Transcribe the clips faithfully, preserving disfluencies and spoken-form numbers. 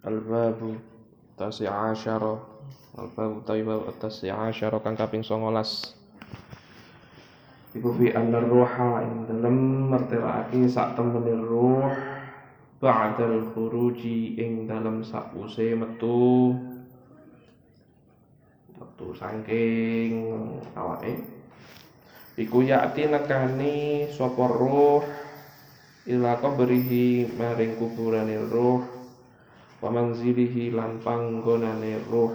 Al-babu tasi asyara Al-babu taibab tasi asyara kang kaping songolas iku fi anna ruha ing dalem mertelake sak temene ruh ba'dal khuruji ing dalem sakuse metu metu saking awake iku yakti nekani sapa ruh ila qabrihi maring kuburane ruh wa manzilihi lan panggonane ruh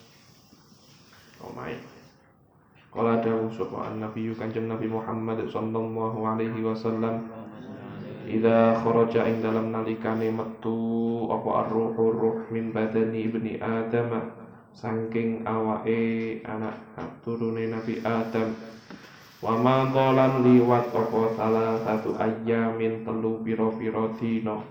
omae kala dawuh sapa an-nabi kanjeng Nabi Muhammad sallallahu alaihi wasallam idza kharaja ing dalam nalikane metu apa ar-ruhu ruh min badani ibni adam saking awake anak turune Nabi Adam wa ma dhalan liwat apa salah satu ayyamin telu pira-pira dina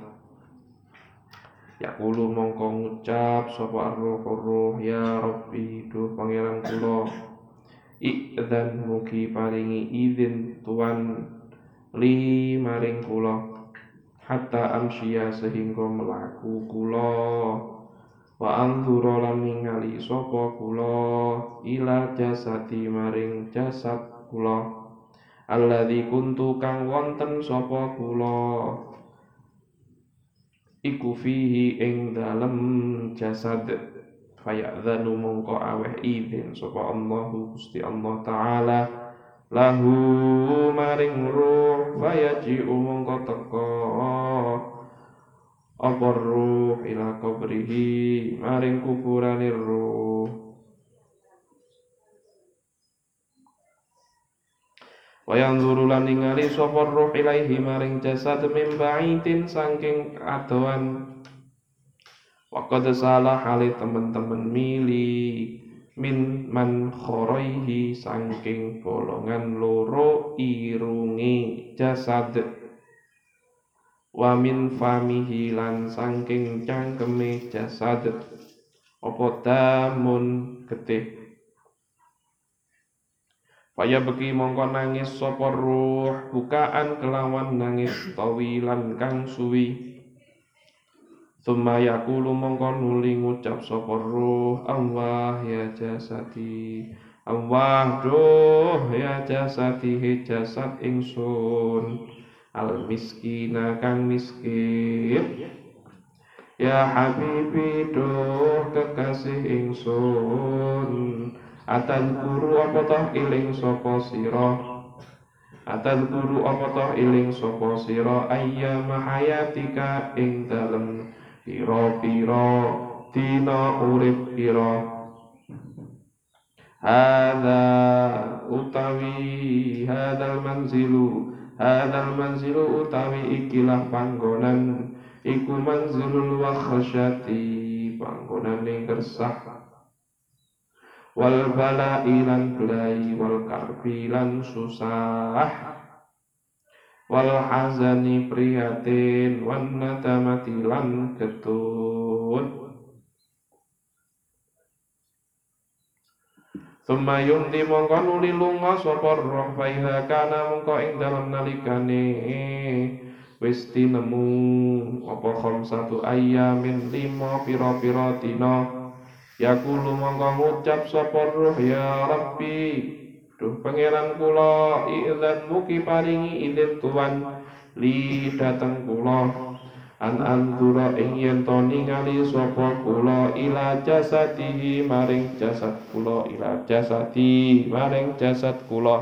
yaqulu mongko ngucap sapa ar-ruhu ruh ya rabbi duh pangeran kula idzan mugi paringi izin tuan li maring kula hatta amsya sehingga melaku kula wa anzura lan ningali sapa kula ila jasati maring jasad kula alladzi kuntu kang wonten sapa kula iku fihi ing dalem jasad fayadzanu mongko aweh izin sapa Allahu Gusti Allah taala lahu maring ruh fayaji'u mongko teka apa ruh ila qabrihi maring kuburane ruh wayang zurulan ningali sapa ruh ilaihi maring jasad min baitin saking adoan waqad salah hale temen-temen mili min man khoraihi saking bolongan loro irunge jasad wa min famihi lan saking cangkeme jasad apa damun getih Faya beki mongko nangis sapa ruh bukaan kelawan nangis tawilan kang suwi Tsumma yaqulu mongko nuli ngucap sapa ruh Allah ya jasadi Allah duh ya jasadi he jasad ingsun al miskina kang miskin ya habibi duh kekasih ingsun atan guru apa toh iling sapa sira atan guru apa toh iling sapa sira ayyama hayatika ing dalem pira-pira dina urip pira hadza utawi hadzal manzilu hadzal manzilu utawi ikilah panggonan iku manzilul wakhsyati panggonane kersah wal bala'i lan belai wal karbi lan susah wal hazani prihatin wan nadamati lan getun Tsumma yumdi mongko nuli lunga sapa roh faiha kana mongko ing dalem nalikane wis tinemu apa khamsatu ayyamin lima pira-pira dina yaqulu mongko ngucap sapa ruh ya rabbi duh pangeran kula idzan mugi paringi izin tuan li dateng kula an anzura ing yen to ningali sapa kula ila jasadihi maring jasad kula ila jasadi maring jasad kula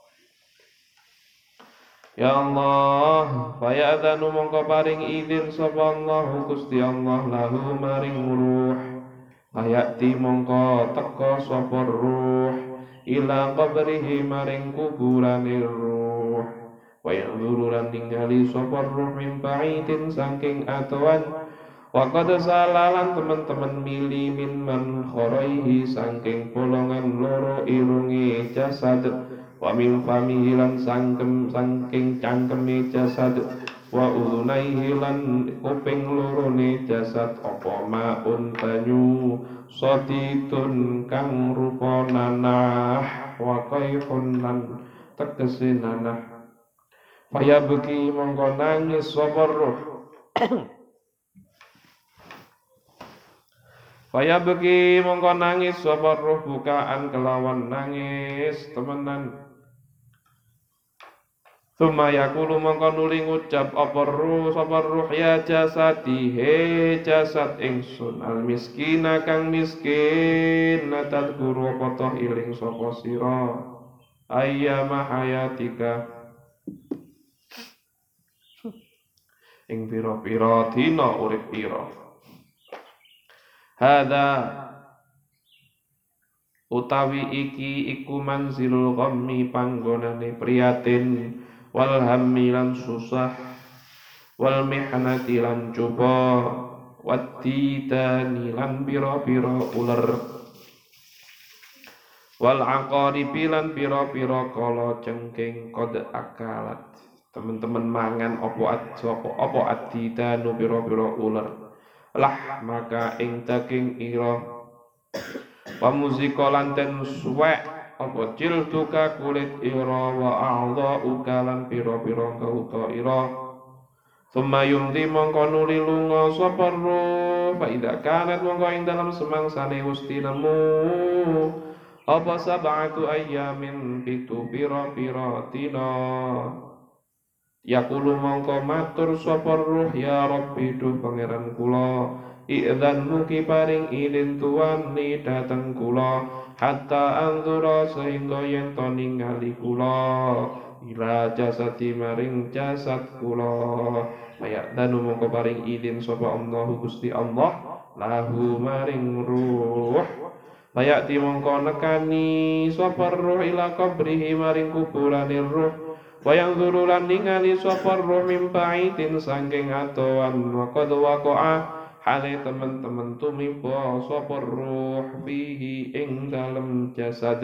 ya Allah fayadzanu mongko paring izin sapa Allah Gusti Allah lahu maring ruh ayati mongko teka sapa ruh ila qabrihi maring kuburane ruh wa yanzuru lan ningali sapa ruh min baitin saking atuan wa qad salalan teman-teman mili min man khoraihi saking bolongan loro irunge jasad wa min famihi lan sangkem saking cangkeme jasad wa udunaihi lan kuping lorone jasad apa maun banyu soditun kang rupa nanah wa kaifun lan tegese nanah faya beki mongko nangis sapa ruh Faya beki mongko nangis sapa ruh bukaan kelawan nangis temenan. Tsumma yaqulu mongko nuli ngucap apa ruh sapa ruh ya jasadi he jasad ingsun al miskina kang miskin natal guru apa toh iling sapa sira ayyama hayatika ing pira-pira dina urip pira hadza utawi iki iku manzilul ghammi panggonane priyatin wal hammi lan susah wal mihnati lan coba wattidani lan pira-pira uler wal aqaribi lan pira-pira kala cengking kod akalat teman-teman mangan opo at opo opo attidanu pira-pira uler lah maka ing daging ira pamuzika lan ten suwek apa jilduka kulit ira wa a'dha'uka lan pira-pira kauta ira summa yumdi mongko nuli lunga sapa ruh fa idza kanat mongko ing dalam semangsane ustinemu apa sab'atu ayyamin pitu pira-pira dina yaqulu mongko matur sapa ruh ya rabbi duh pangeran kula i'dzan mugi paring idin tuwani dateng kula hatta anzura sehingga yen to ningali kula ila jasadi maring jasad kula mayak danu mongko paring idin sapa Allah Gusti Allah lahu maring ruh mayak ti mongko nekani sapa ruh ila qabrihi maring kuburane ruh wayang zurulan ningali sapa ruh mimpaitin saking atoan wa qad waqa'a hale teman-teman tumiba sapa ruh fihi ing dalam jasad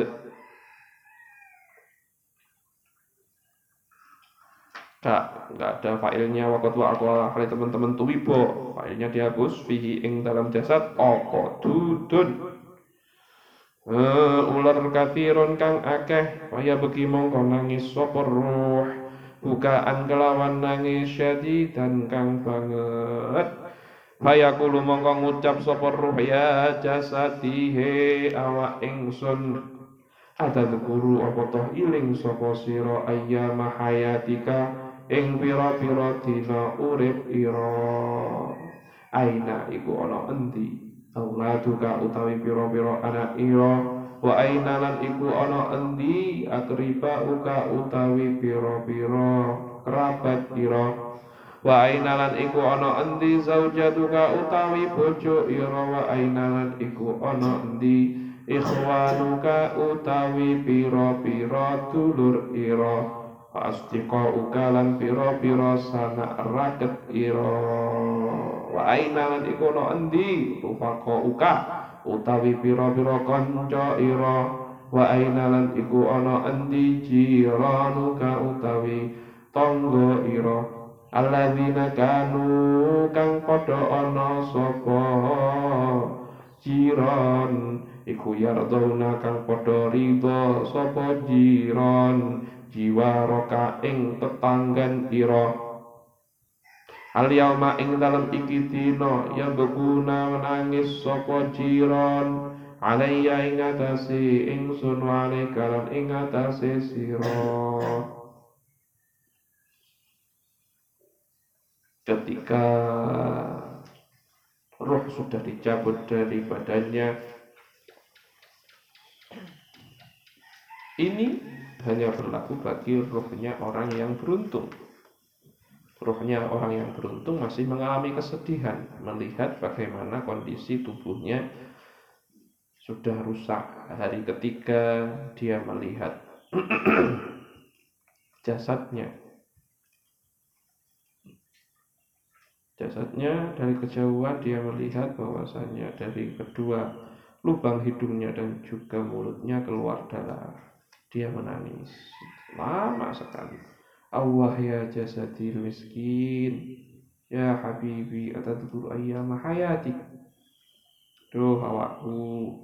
Kak, nggak ada failnya waqad waqa'a hale teman-teman tumiba failnya dihapus fihi ing dalam jasad apa dudun uh, ular kathirun kang akeh kaya begi mongko nangis sapa ruh bukaan kelawan nangis syadidan kang banget Hayakulu mongko ngucap sapa ruh ya jasadi he awak ingsun ada guru apa toh iling sapa sira ayyama hayatika ing pira-pira dina urip ira aina iku ana endi auladuka utawi pira-pira anak ira wa aina lan iku ana endi akriba uka utawi pira-pira kerabat ira wa ainalan iku ana endi zaujatuka utawi bojo ira wa ainalan iku ana endi ikhwanuka utawi pira-pira dulur ira asdiqa ukalan pira-pira sanak raket ira wa ainalan iku ana endi rupaka uka utawi pira-pira kanca ira wa ainalan iku ana endi jiranuka utawi tangga ira alladzina kanu kang padha ana sapa jiran iku yarduna kang padha ridho sapa jiran jiwaraka ing tetanggan ira al yauma ing dalem iki dina ya beguna menangis sapa jiran alayya ing atase ingsun wale kalan ing atase sira ketika roh sudah dicabut dari badannya, ini hanya berlaku bagi rohnya orang yang beruntung. Rohnya orang yang beruntung masih mengalami kesedihan melihat bagaimana kondisi tubuhnya sudah rusak. Hari ketiga dia melihat jasadnya Jasadnya dari kejauhan dia melihat bahwasanya dari kedua lubang hidungnya dan juga mulutnya keluar darah. Dia menangis lama sekali. Allah ya jasadil miskin, ya habibi atadkur ayyama hayati. Duh awakku,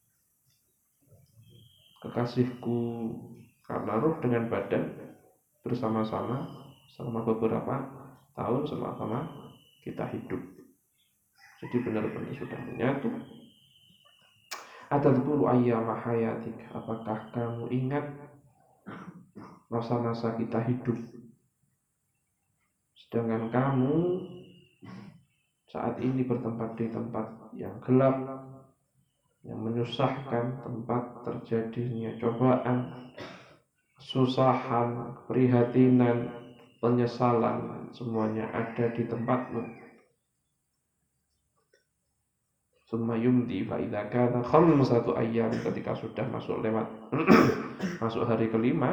kekasihku, karena ruh dengan badan bersama-sama selama beberapa tahun sama-sama kita hidup. Jadi benar-benar sudah menyatu Atadhkuru ayyama hayatik, apakah kamu ingat masa-masa kita hidup, sedangkan kamu saat ini bertempat di tempat yang gelap, yang menyusahkan, tempat terjadinya cobaan, kesusahan, keprihatinan, penyesalan, semuanya ada di tempatmu. Summa yumdi fa idza kana khamsatu ayyam, ketika sudah masuk lewat masuk hari kelima,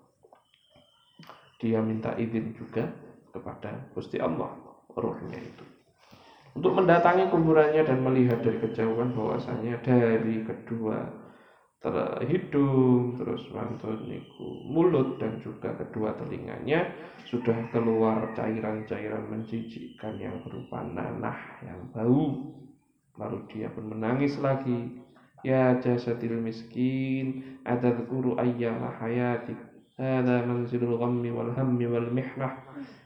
dia minta izin juga kepada Gusti Allah, ruhnya itu, untuk mendatangi kuburannya dan melihat dari kejauhan bahwasanya dari kedua hidung, terus mantun niku mulut dan juga kedua telinganya sudah keluar cairan-cairan menjijikkan yang berupa nanah yang bau. Lalu dia pun menangis lagi. Ya jasadil miskin, atadhkuru ayyama hayatik, hadza manzilul ghammi wal hammi wal mihnah.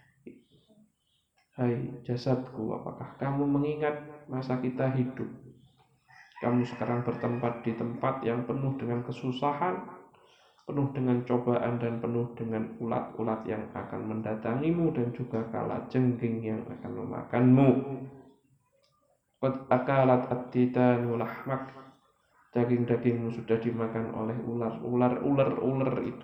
Hai jasadku, apakah kamu mengingat masa kita hidup? Kamu sekarang bertempat di tempat yang penuh dengan kesusahan, penuh dengan cobaan, dan penuh dengan ulat-ulat yang akan mendatangimu, dan juga kalajengking yang akan memakanmu. Qad akalat at-titanu lahmak, daging-dagingmu sudah dimakan oleh ular, ular, ular, ular itu.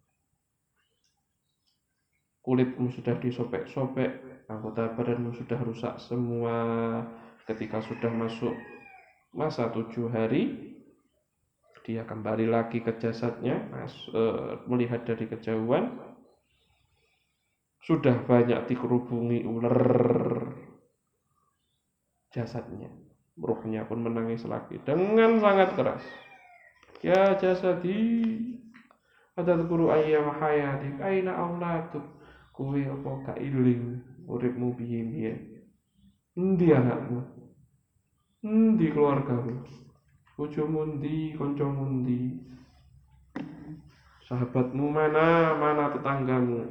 Kulitmu sudah disobek-sobek, anggota badanmu sudah rusak semua. Ketika sudah masuk masa tujuh hari, dia kembali lagi ke jasadnya, mas, e, melihat dari kejauhan, sudah banyak dikerubungi ular jasadnya. Ruhnya pun menangis lagi dengan sangat keras. Ya jasadi, atadhkuru ayyama hayatik, aina aulatuk, kowe apa gak iling uripmu piye-piye? Endi anakmu? Endi keluargamu? Bojomu endi, kancamu endi? Sahabatmu mana, mana tetanggamu?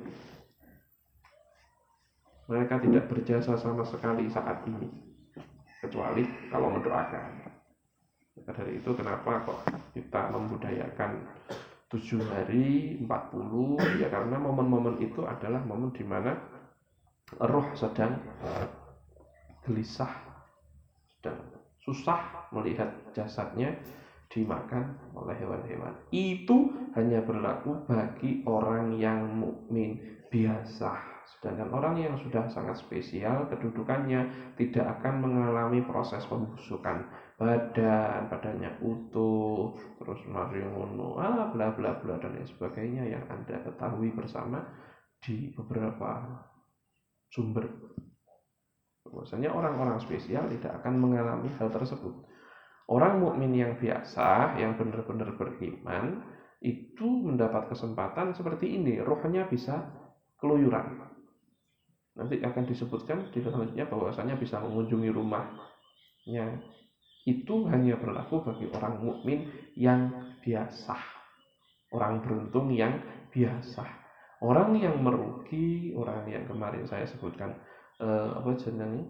Mereka tidak berjasa sama sekali saat ini, kecuali kalau mendoakan. Maka dari itu kenapa kok kita membudayakan tujuh hari, empat puluh, ya karena momen-momen itu adalah momen di mana roh sedang gelisah, sedang susah melihat jasadnya dimakan oleh hewan-hewan. Itu hanya berlaku bagi orang yang mukmin biasa. Sedangkan orang yang sudah sangat spesial kedudukannya tidak akan mengalami proses pembusukan badan, badannya utuh, terus mari ngono, ah bla bla bla dan lain sebagainya yang Anda ketahui bersama di beberapa sumber. Bahwasanya orang-orang spesial tidak akan mengalami hal tersebut. Orang mukmin yang biasa, yang benar-benar beriman, itu mendapat kesempatan seperti ini, rohnya bisa keluyuran. Nanti akan disebutkan di selanjutnya bahwasanya bisa mengunjungi rumahnya. Itu hanya berlaku bagi orang mukmin yang biasa, orang beruntung yang biasa. Orang yang merugi, orang yang kemarin saya sebutkan eh, apa jenenge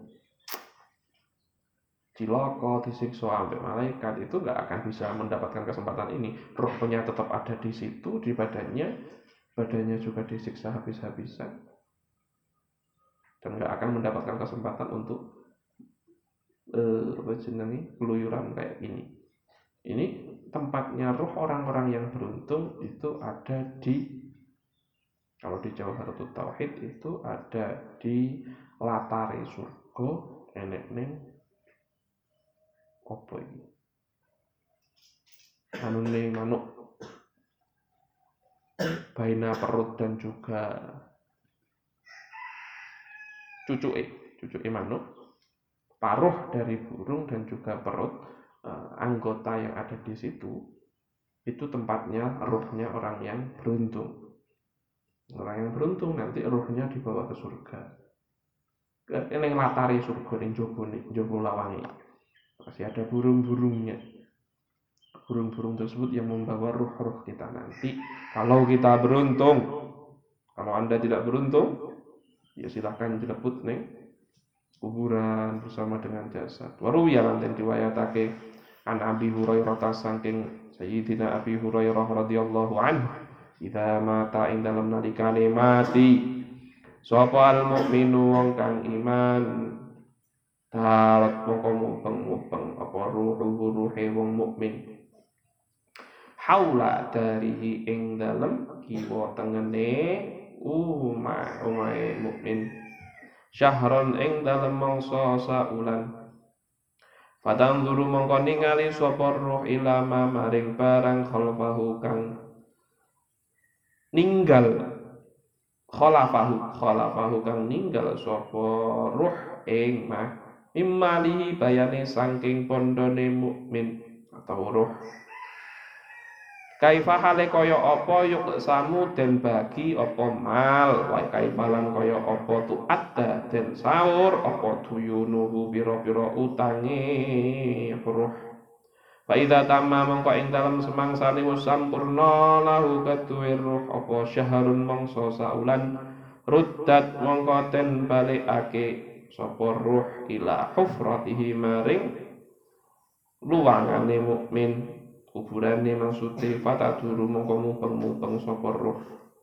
cilaka, disiksa sampai malaikat, itu nggak akan bisa mendapatkan kesempatan ini. Rohnya tetap ada di situ, di badannya, badannya juga disiksa habis-habisan, dan nggak akan mendapatkan kesempatan untuk eh, apa jenenge keluyuran kayak ini. Ini tempatnya roh orang-orang yang beruntung itu ada di, kalau di Jawharatul Tauhid itu ada di latare surga, enek ning apa ini? Anune manuk, baina perut dan juga cucuke, cucuke manuk, paruh dari burung dan juga perut eh, anggota yang ada di situ, itu tempatnya rohnya orang yang beruntung. Orang yang beruntung nanti rohnya dibawa ke surga. Ning latari surga ning jaba jaba lawange. Masih ada burung-burungnya. Burung-burung tersebut yang membawa ruh-ruh kita nanti kalau kita beruntung. Kalau Anda tidak beruntung, ya silahkan dilebut ning kuburan bersama dengan jasad. Waru ya lanten riwayatake An Abi Hurairah saking Sayyidina Abi Hurairah radhiyallahu anhu, idza mata ing dalem nalikane mati sapa al mukminu wong kang iman, dalat mongko mubeng-mubeng apa ruhu ruhe wong mukmin, haula darihi ing dalem kiwa tengene umah umahe mukmin, syahron ing dalem mangsa saulan. Padang dulu mongko ningali sapa ruh ilama maring barang khalfahu kang ninggal khalafahu khalafahu kang ninggal sapa ruh ing mah imalihi bayane saking pondone mukmin atau ruh. Kaifa hale kaya apa yuk samu den bagi apa mal, wa kaifalan kaya apa tu adda den saur apa tuyunuhu pira-pira utange ruh. Fa idza tamma mongko ing dalem semangsane wis sampurna lahu katuwe ruh apa syahrun mangsa saulan, ruddat mongko den balikake sapa ruh ila hufratihi maring luwangane mukmin, kuburane maksude fataduru mongko mupeng-mupeng sapa ruh.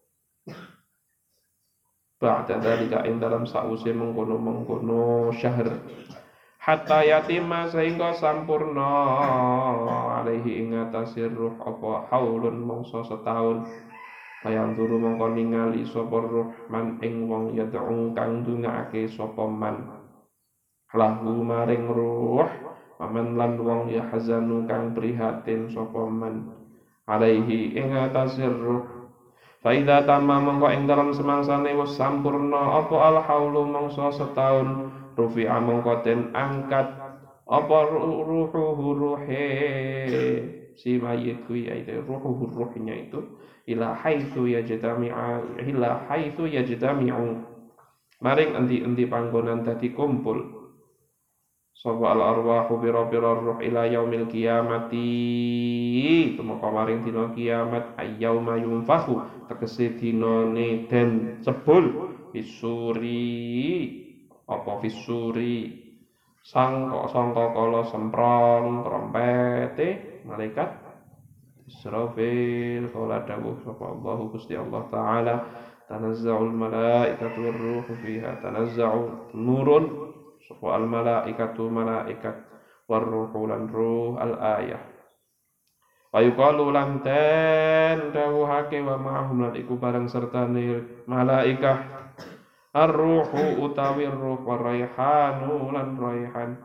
Ba'da dalika ing dalam sause mengkono-mengkono syahr, hatta yatima sehingga sampurna alaihi ing atase ruh apa haulun mangsa setahun. Bayang turu mongko ningali sapa ruh man ing wong yad'u kang ndongaake sapa man lahu maring ruh, paman lan wong ya hazanu kang prihatin sapa man alaihi ing atase ruh. Fa idza tamma mongko ing dalem semangsane wis sampurna apa al haulu mangsa setahun, rufi'a mongko den angkat apa ruhu ruhe si mayit kuwi, yaitu ruhu ruhnya itu ila haitsu yajtami'a ila haitsu yajtami'u maring endi-endi panggonan dadi kumpul sapa al arwahu bira-bira ruh ila yaumil qiyamati, tumeka maring dina kiamat, ayyauma yunfahu tegese dinane den cebul fisuri apa fisuri sangka sangka kala semprong trompete malaikat Israfil. Qala dawuh sapa Allahu Gusti Allah taala, tanazza'ul malaikatu war-ruhu fiha, tanazza'u nurun sapa al malaikatu malaikat war-ruhu lan ruh al ayah. Wa yuqalu lan ten dawuhake wa ma'hum lan iku bareng sertane malaikah ar-ruhu utawi ruh wa raihanu lan raihan.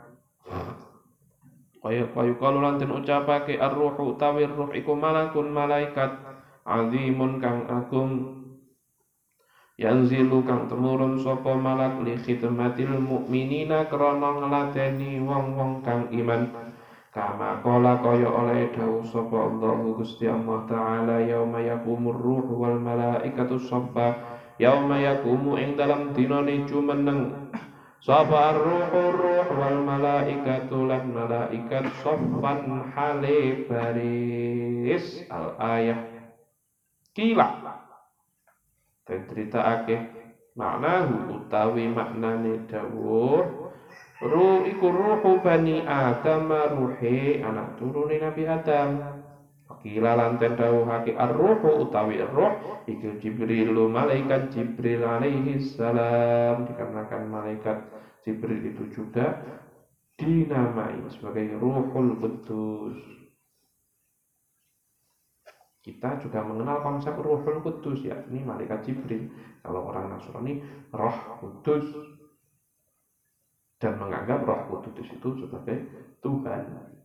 Kaya kaya kalu lan den ucapake ar-ruhu utawi ruh iku malakun malaikat azimun kang agung, yanzilu kang temurun sapa malak li khidmatil mukminina krana ngladeni wong-wong kang iman, kama kala kaya oleh dawuh sapa Allahu Gusti Allah taala, yauma yaqumur ruhu wal malaikatu saffa, yauma yaqumu ing dalam dinane jumeneng sapa ar-ruhu ruh wal malaikatu lan malaikat saffan hale baris al ayah. Kila den critakake maknahu utawi maknane dawuh ruh iku ruhu bani Adam, ruhe anak turune Nabi Adam. Kila lan den dawuhake ar-ruhu utawi ruh iku Jibril, malaikat Jibril alaihi salam, dikarenakan malaikat Jibril itu juga dinamai sebagai Ruhul Qudus. Kita juga mengenal konsep Ruhul Qudus, ya, ini malaikat Jibril. Kalau orang Nasrani Roh Kudus, dan menganggap Roh Kudus itu sebagai Tuhan.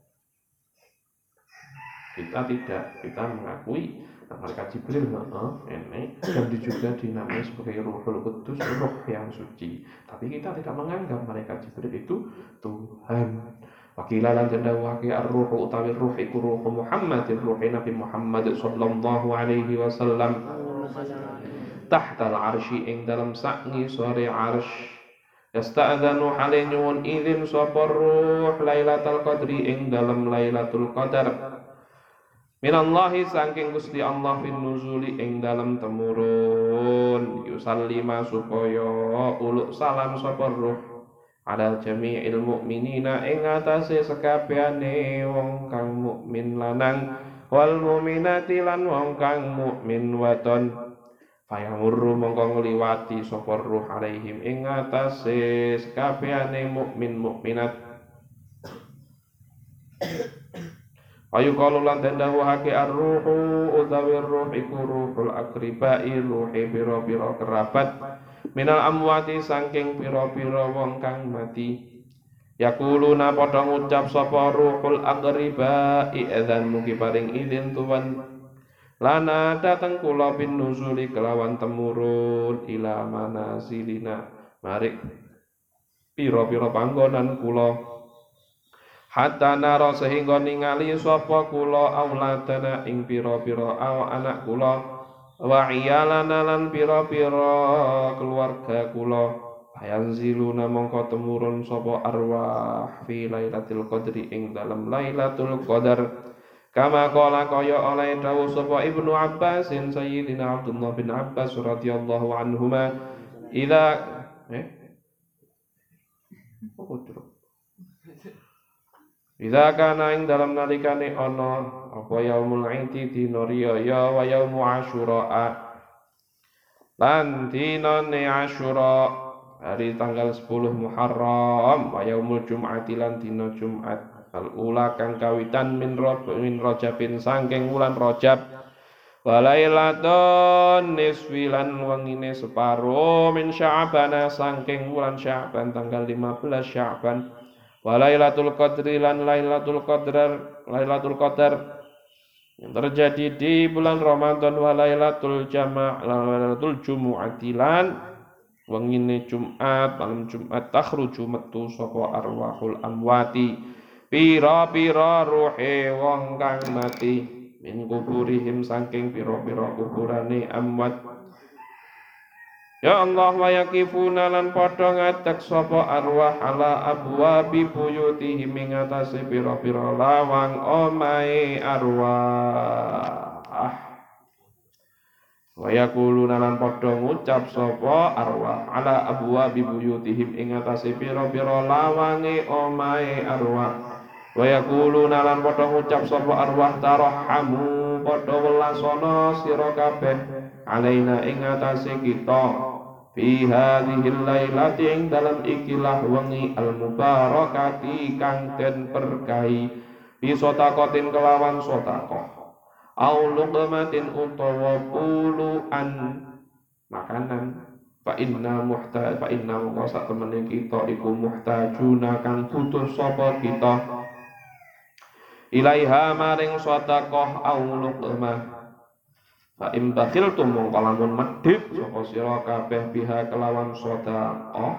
Kita tidak, kita mengakui malaikat Jibril uh, ini dan juga dinamai sebagai Ruhul Qudus, roh yang suci. Tapi kita tidak menganggap malaikat Jibril itu Tuhan. Wakila lan dawuhake ar-ruhu utawi ruh iku ruh Muhammad, ruh Nabi Muhammad sallallahu alaihi wasallam, tahta al-arsy ing dalam sakngi sore arsy, yasta'dzanu hale nyuwun izin sapa ruh Lailatul Qadri ing dalam Lailatul Qadar, minallahi saking Gusti Allah fin nuzuli ing dalam temurun, yusallima supaya uluk salam sapa ruh ala jami'il mu'minina ing atase sekabehane wong kang mukmin lanang wal mu'minati lan wong kang mukmin wadon fayamurru mongko ngliwati sapa ruh alaihim ing atase sekabehane mukmin mukminat ayu qalu lan dawuhake ar-ruhu utawi ruh iku ruhul akribai ruhe pira-pira kerabat minal amwati saking pira-pira wong kang mati yaquluna padha ngucap sapa ruhul akribai idzan mugi paring izin tuwan lana dateng kula bin nuzuli kelawan temurun ila manasilina marik pira-pira panggonan kula hatta nara sehingga ningali sapa kula auladana ing pira-pira anak kula wa iyalana lan pira-pira keluarga kula ayanziluna mongko temurun sapa arwah fi lailatul qadri ing dalam lailatul qadar kama qala kaya oleh dawuh sapa Ibnu Abbas sayyidina Abdullah bin Abbas radhiyallahu anhuma ila eh Idza kana ing dalam nalikane ana apa yaumul idi dina riyaya wa yaumu asyura lan dinane asyura hari tanggal sepuluh Muharram wa yaumul jum'ati lan dina Jumat al ula kang kawitan min rob min rajabin saking wulan Rajab wa lailatul nisfi lan wengine separo min Sya'ban saking wulan Sya'ban tanggal lima belas Sya'ban wa lailatul qadri lan lailatul qadar lailatul qadar yang terjadi di bulan Ramadan wa lailatul jama' lailatul jumu'ati lan wengine Jumat malam Jumat takhruju metu sapa arwahul amwati pira-pira ruhe wong kang mati min kuburihim saking pira-pira kuburane amwat ya Allah wa yakifuna lan padha ngadeg sapa arwah ala abwabi buyutihim ing atase pira-pira lawang omahe arwah wa yaquluna lan padha ngucap sapa arwah ala abwabi buyutihim ing atase pira-pira lawange omahe arwah wa yaquluna lan padha ngucap sapa arwah tarahamu padha welasana sira kabeh alaina ing atase kita fi hadhil lailati ing dalam ikilah wengi al mubarakati kang den berkahi bi sotakotin kelawan sotakoh au luqmatin utawa puluhan makanan fa inna muhtaj fa inna sak temene kita iku muhtajuna kang butuh sapa kita ilaiha maring sotakoh au luqmah fa im bakhiltum mongko lamun medhit sapa sira kabeh biha kelawan sedekah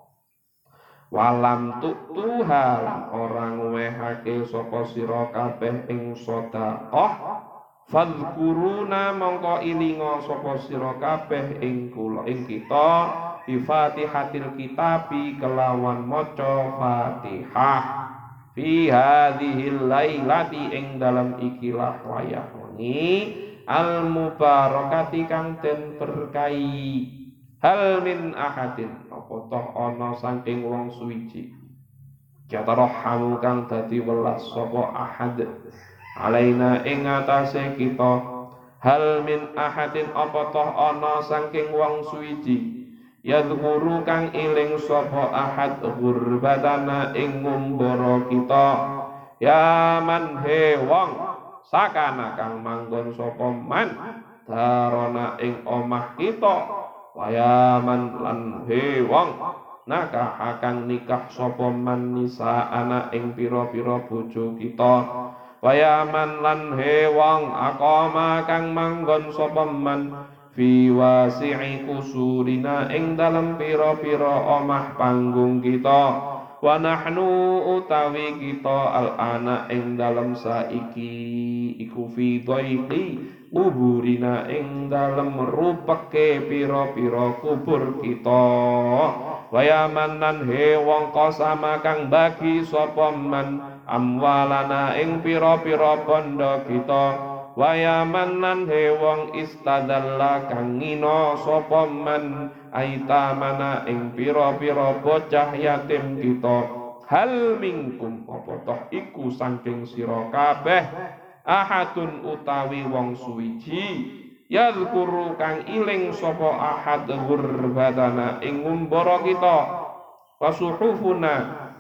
walam tutuha lan ora ngwehake sapa sira kabeh ing sedekah fadhkuruna mongko ilinga sapa sira kabeh ing kula ing kita bi Fatihatil kitabi kelawan maca Fatihah fi hadhil lailati ing dalam ikilah wayah wengi al mubarakati kang den berkahi hal min ahadin apa toh ana saking wong suwiji yatarahamu kang dadi welas sapa ahad alaina ing atase kita hal min ahadin apa toh ana saking wong suwiji yadhkuru kang iling sapa ahad gurbatana ing ngumbara kita ya man he wong sakana kang manggon sapa man darana ing omah kita wayaman lan he wong nakah kang nikah sapa man nisa ana ing pira-pira bojo kita wayaman lan he wong aqama kang manggon sapa man fi wasi'i kusurina ing dalem pira-pira omah panggung kita wa nahnu utawi kita al-ana ing dalem saiki iku fi dhaiqi kuburina ing dalem rupeke pira-pira kubur kita wa yamanan he wong qasama kang bagi sapa man amwalana ing pira-pira bondo kita wa yamanan he wong istadalla kang ngina sapa man aitamana ing pira-pira bocah yatim kita. Hal minkum apa toh iku saking sira kabeh ahadun utawi wong suwiji yadhkuru kang iling sapa ahad ghurbatana ing ngumbara kita wasuhufuna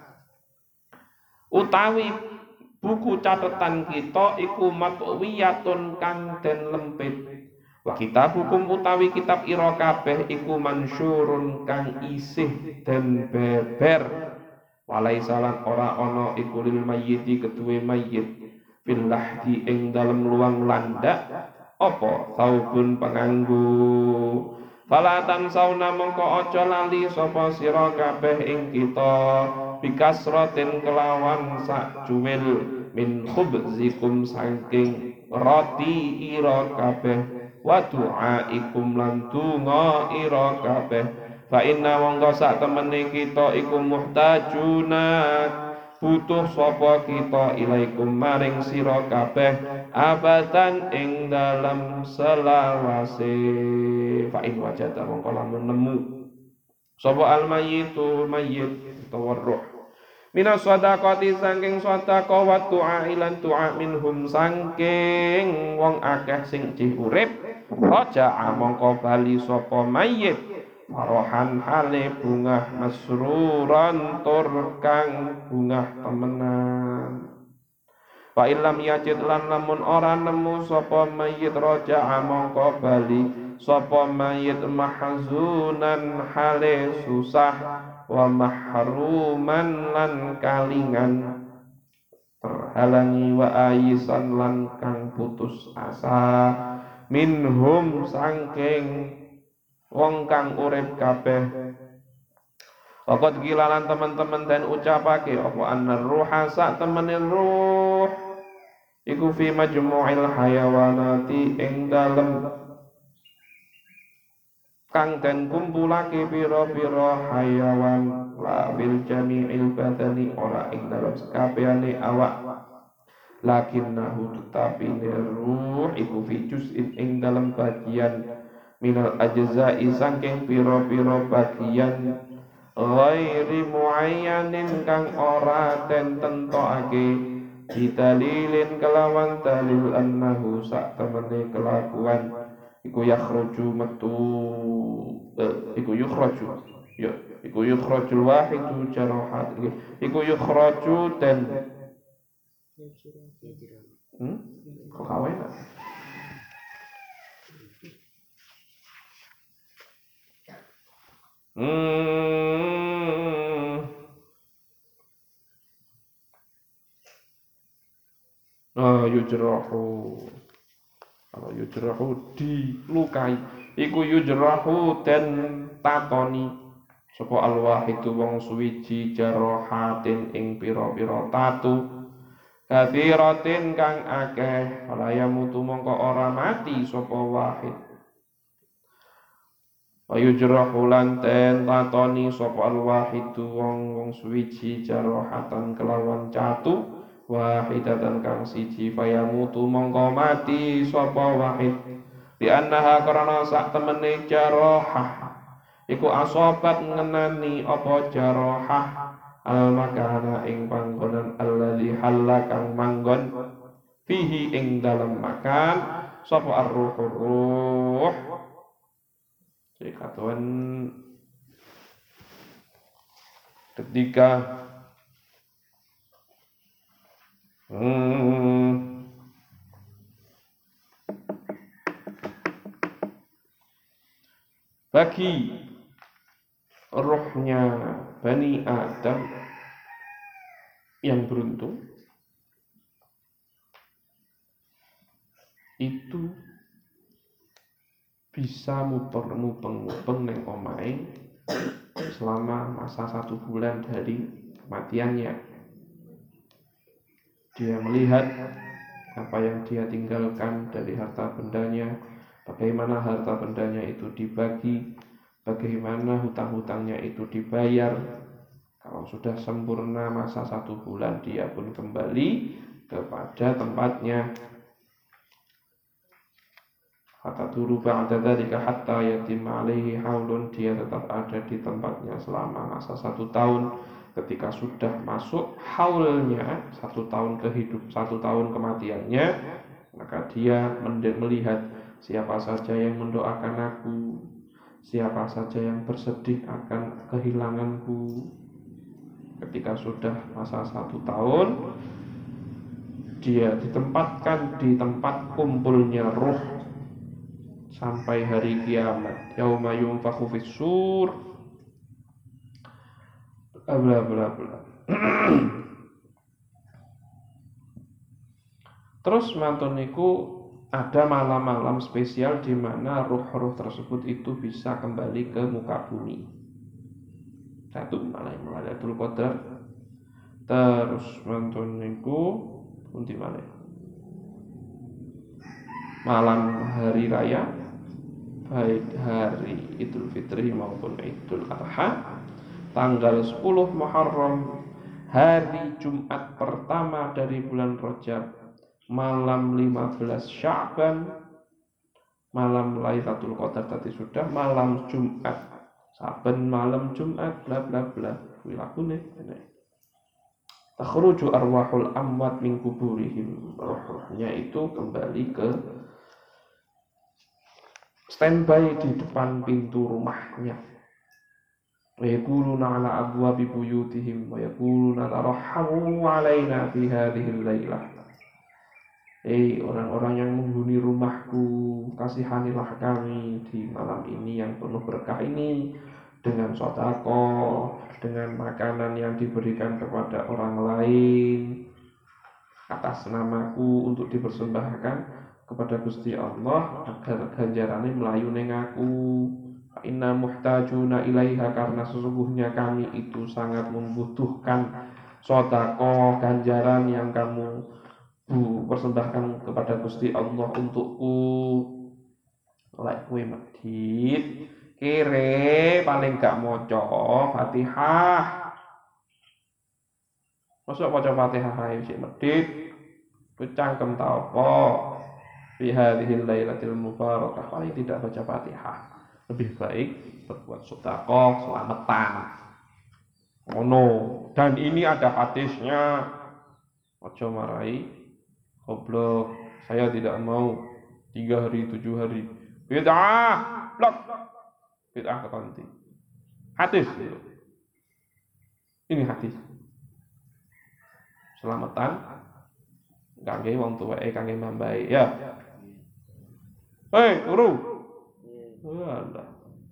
utawi buku catatan kita iku matwiyatun kang den lempit wa kitab hukum utawi kitab ira kabeh iku mansyurun kang isih den beber walai salan ora ana iku lil mayyiti keduwe mayyit fil lahdi ing dalem luang landak apa saubun penganggu falatan sauna mongko aja lali sapa sira kabeh ing kita bikasratin kelawan sak cuwil min khubzikum saking roti ira kabeh wa du'aikum lan donga ira kabeh fa inna mongko sak temene kita iku muhtajuna butuh sapa kita ilaikum maring sira kabeh abadan ing dalam selawase fa in wajada mongko lamun nemu sapa al mayyitu mayyit utawa ruh minas sadaqati saking sedekah wa du'a ilan du'a minhum saking wong akeh sing jih urip raja mongko bali sapa mayyit Farohan hale bunga masruran tur kang bunga temenan. Wa illam yajid lan lamun ora nemu sapa mayit raja mongko bali sapa mayit mahzunan hale susah wa mahruman lan kalingan terhalangi wa ayisan lan kang putus asa minhum sangking wong kang urip kabeh. Waqat gilalan teman-teman dan ucapake apa annar ruha sak temene ruh iku fi majmu'il hayawanati ing dalem kang den kumpulake pira-pira hayawan la bil jami'il badani ora ing dalem sakabehane awak lakinnahu tetapi ruh iku fi juz'in ing dalem bagian minal ajza'i saking pira-pira bagian ghairi muayyanin kang ora den tentokake didalilin kelawan dalil annahu sak temene kelakuan iku yakhruju metu eh, iku yukhraju ya iku yukhrajul wahidu jarahat iku yukhraju dan hmm? kok kawen Hmm. Oh, yujrahu. Kalau yujrahu dilukai, iku yujrahu dan tatoni. Sapa al-wahidu wong suwiji jarahatin ing pira-pira tatu. Kathiratin kang akeh, falaya mutu mongko ora mati sapa wahid. Ayu jerahu lan ten tatoni sapa al-wahidu wong wong suwiji jarahatan kelawan catu wahidatan kang siji fayamutu mongko mati sapa wahid di annaha karana sak temene jarahah iku asobat ngenani apa jarahah al makana ing panggonan alladzi halla kang manggon fihi ing dalem makan sapa ar-ruh jadi katuan ketika hmm, bagi rohnya Bani Adam yang beruntung itu bisa mupeng-mupeng neng omahe selama masa satu bulan dari kematiannya. Dia melihat apa yang dia tinggalkan dari harta bendanya, bagaimana harta bendanya itu dibagi, bagaimana hutang-hutangnya itu dibayar. Kalau sudah sempurna masa satu bulan, dia pun kembali kepada tempatnya. Fataduru ba'da dzalika hatta yatim alaihi haulun, dia tetap ada di tempatnya selama masa satu tahun. Ketika sudah masuk haulnya, satu tahun kehidup, satu tahun kematiannya, maka dia melihat siapa saja yang mendoakan aku, siapa saja yang bersedih akan kehilanganku. Ketika sudah masa satu tahun, dia ditempatkan di tempat kumpulnya ruh sampai hari kiamat. Yauma yunfakhu fis-sur, bla bla bla. Terus mantun niku ada malam-malam spesial di mana ruh-ruh tersebut itu bisa kembali ke muka bumi. Satu malam Lailatul Qadar. Terus mantun niku pundi malih? Malam hari raya, baik hari Idul Fitri maupun Idul Adha, tanggal sepuluh Muharram, hari Jumat pertama dari bulan Rajab, malam lima belas Sya'ban, malam Lailatul Qadar tadi sudah, malam Jumat, saben malam Jumat, bla bla bla, kuwi lakune ngene. Takhruju arwahul amwat min kuburihim, roh-rohnya itu kembali ke standby di depan pintu rumahnya. Wa yaquluna ala abwabi buyutihim wa yaquluna tarhamu alaina fi hadhihi al-lailah. Hei orang-orang yang menghuni rumahku, kasihanilah kami di malam ini yang penuh berkah ini dengan sedekah, dengan makanan yang diberikan kepada orang lain atas namaku untuk dipersembahkan kepada Gusti Allah agar ganjarane melayu ning aku. Inna muhtajuna ilaiha, karena sesungguhnya kami itu sangat membutuhkan sedekah, ganjaran yang kamu bu persembahkan kepada Gusti Allah untukku. Lek kowe medhit kere paling gak maca Fatihah. Mosok maca Fatihah ae sik medhit. Ku cangkem ta apa? Fi hadhil lailatul mubarakah, paling tidak baca Fatihah. Lebih baik berbuat sedekah selamatan. Ngono. Dan ini ada hadisnya. Aja marai goblok, saya tidak mau tiga hari tujuh hari bid'ah blok bid'ah ketanti hadis itu. Ini hadis selamatan kangge wong tuweke, kangge mambae ya. Hei guru, walah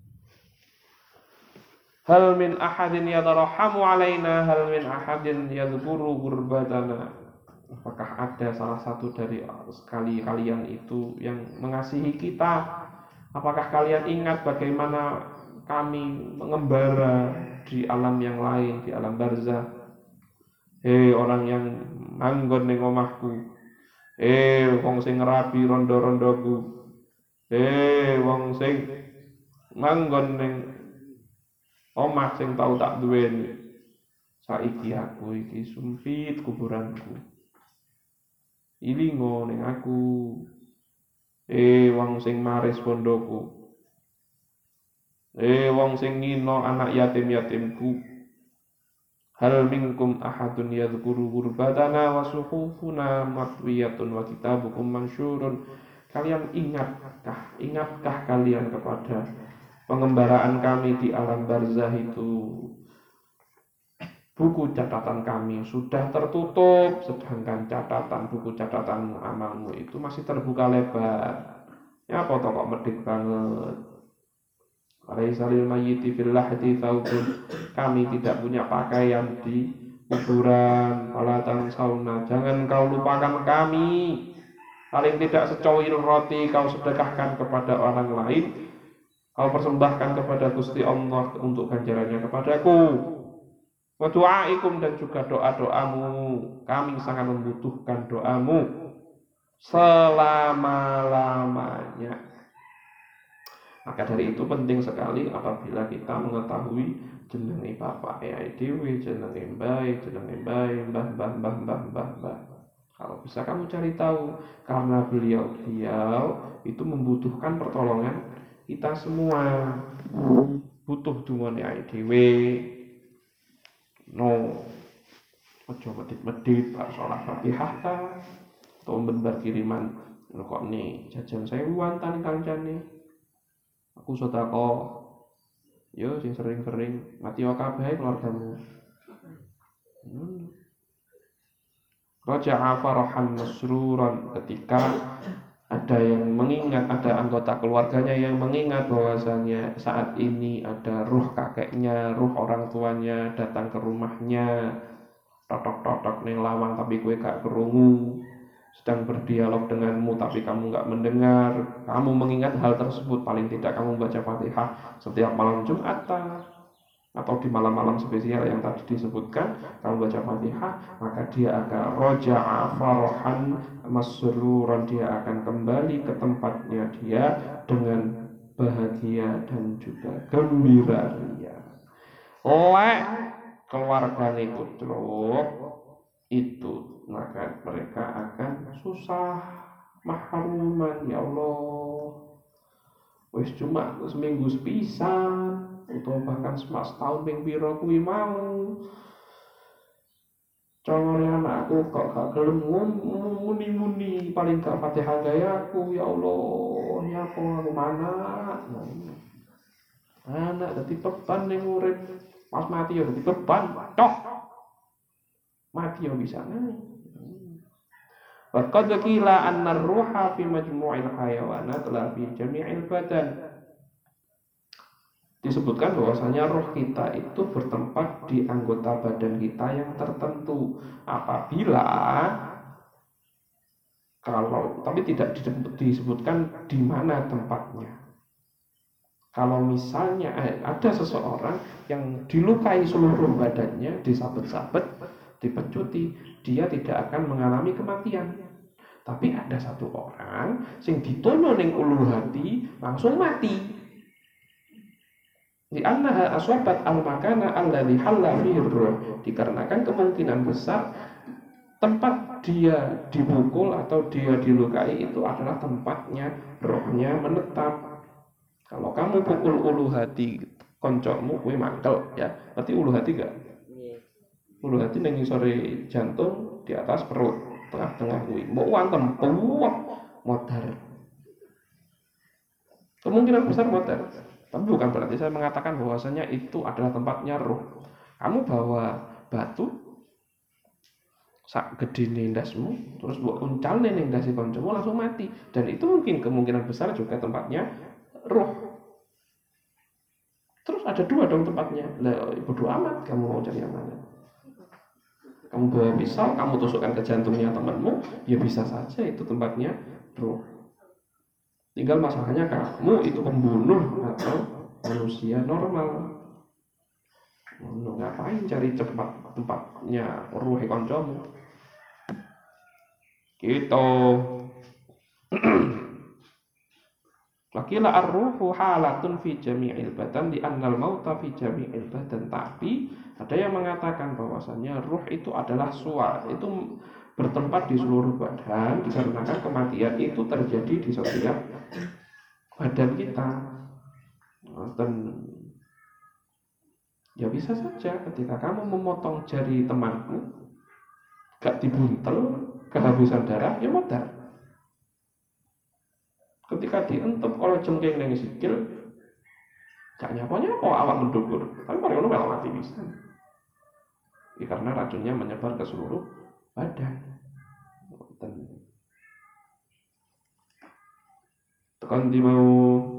hal min ahadin yadarhamu alaina, hal min ahadin yadhkuru gurbatana. Apakah ada salah satu dari sekali kalian itu yang mengasihi kita? Apakah kalian ingat bagaimana kami mengembara di alam yang lain, di alam barzah? Hei orang yang manggon ning omahku, hei wong sing ngerabi rondo-rondoku, hei wong sing manggon ning omah sing tau tak duweni, saiki aku iki sumpit kuburanku. Ilingo ning aku, eh wong sing maris bondoku, eh wong sing ngino anak yatim-yatimku. Hal minkum ahadun yadhkuru gurbatana wa suhufuna matwiyatun wa kitabukum mansyurun. Kalian ingatkah, ingatkah kalian kepada pengembaraan kami di alam barzah itu? Buku catatan kami sudah tertutup, sedangkan catatan buku catatan amalmu itu masih terbuka lebar. Ya apa toh kok medhit banget. Alaihissalil mayyiti fil lahdi thawbun. Kami tidak punya pakaian di kuburan. Wala tansawna, jangan kau lupakan kami. Paling tidak secoir roti kau sedekahkan kepada orang lain, kau persembahkan kepada Gusti Allah untuk ganjarannya kepadaku. Wa du'aikum, dan juga doa-doamu, kami sangat membutuhkan doamu selama-lamanya. Maka dari itu penting sekali apabila kita mengetahui jenenge bapak ayah dhewe, jenenge mbae, jenenge mbae, mbah mbah mbah mbah mbah mbah. Kalau bisa kamu cari tahu, karena beliau-beliau itu membutuhkan pertolongan kita semua. Butuh dungane awake dhewe. No, ojo medit-medit bar sholat Fatihah ta. Atau benbar kiriman kok nih jajan sewuan tan kancane. Aku sedekah. Yo sing sering-sering mati wae kabeh keluargamu. Hmm. Raja'a farahan masruran, ketika ada yang mengingat, ada anggota keluarganya yang mengingat bahwasanya saat ini ada ruh kakeknya, ruh orang tuanya datang ke rumahnya, totok-totok ning lawang tapi kowe gak kerungu, sedang berdialog denganmu tapi kamu gak mendengar. Kamu mengingat hal tersebut, paling tidak kamu baca Fatihah setiap malam Jumat atau di malam-malam spesial yang tadi disebutkan, kamu baca Fatihah, maka dia akan roja'a farahan masruran, dia akan kembali ke tempatnya dia dengan bahagia dan juga gembira ria. Lek keluargane kutruk itu, maka mereka akan susah mahruman. Ya Allah, wis cuma seminggu sepisan atau bahkan setahun ping pira kuwi mau congone anakku kok gak gelem muni-muni, paling gak Fatihah gaya aku. Ya Allah, ya apa aku mana anak dadi beban ning urip, pas mati ya dadi beban toh, mati ya bisa nang. Wa qad qila anna ar-ruha fi majmu'il hayawanat la fi jami'il badan. Disebutkan bahwasanya roh kita itu bertempat di anggota badan kita yang tertentu. Apabila kalau tapi tidak disebutkan di mana tempatnya. Kalau misalnya eh, ada seseorang yang dilukai seluruh badannya, disabet-sabet, dipecuti, dia tidak akan mengalami kematian. Tapi ada satu orang sing ditono ning ulu hati langsung mati. Di annaha aswabat al-makana alladhi halla fihi ruh, dikarenakan kemungkinan besar tempat dia dipukul atau dia dilukai itu adalah tempatnya rohnya menetap. Kalau kamu pukul ulu hati koncokmu kuwi mangkel ya, berarti ulu hati gak? Ulu hati ning ngisore jantung, di atas perut, tengah-tengah kuwi. Mbok wantem puwak modar. Kemungkinan besar modar. Tapi bukan berarti saya mengatakan bahwasanya itu adalah tempatnya roh. Kamu bawa batu sak gedene ndasmu, terus mbok uncalne ning ndase kancamu langsung mati. Dan itu mungkin kemungkinan besar juga tempatnya roh. Terus ada dua dong tempatnya. Lah bodo amat kamu mau cari yang mana. Kamu bawa pisau, kamu tusukkan ke jantungnya temanmu, ya bisa saja itu tempatnya roh. Tinggal masalahnya kamu itu pembunuh atau manusia normal. Mau ngapain cari cepat tempatnya ruh kancamu? Gitu. Wakila ar-ruhu halatun fi jami'il badan di annal mauta fi jami'il badan. Tapi ada yang mengatakan bahwasanya ruh itu adalah suar, itu bertempat di seluruh badan dikarenakan kematian itu terjadi di setiap badan kita. Dan ya bisa saja ketika kamu memotong jari temanmu gak dibuntel, kehabisan darah, ya modar. Ketika dientup kalau jengking ning sikil gak nyapa-nyapa awak mendukur, tapi paling ngono malah mati bisa. Ya, karena racunnya menyebar ke seluruh badan. Tekan di mau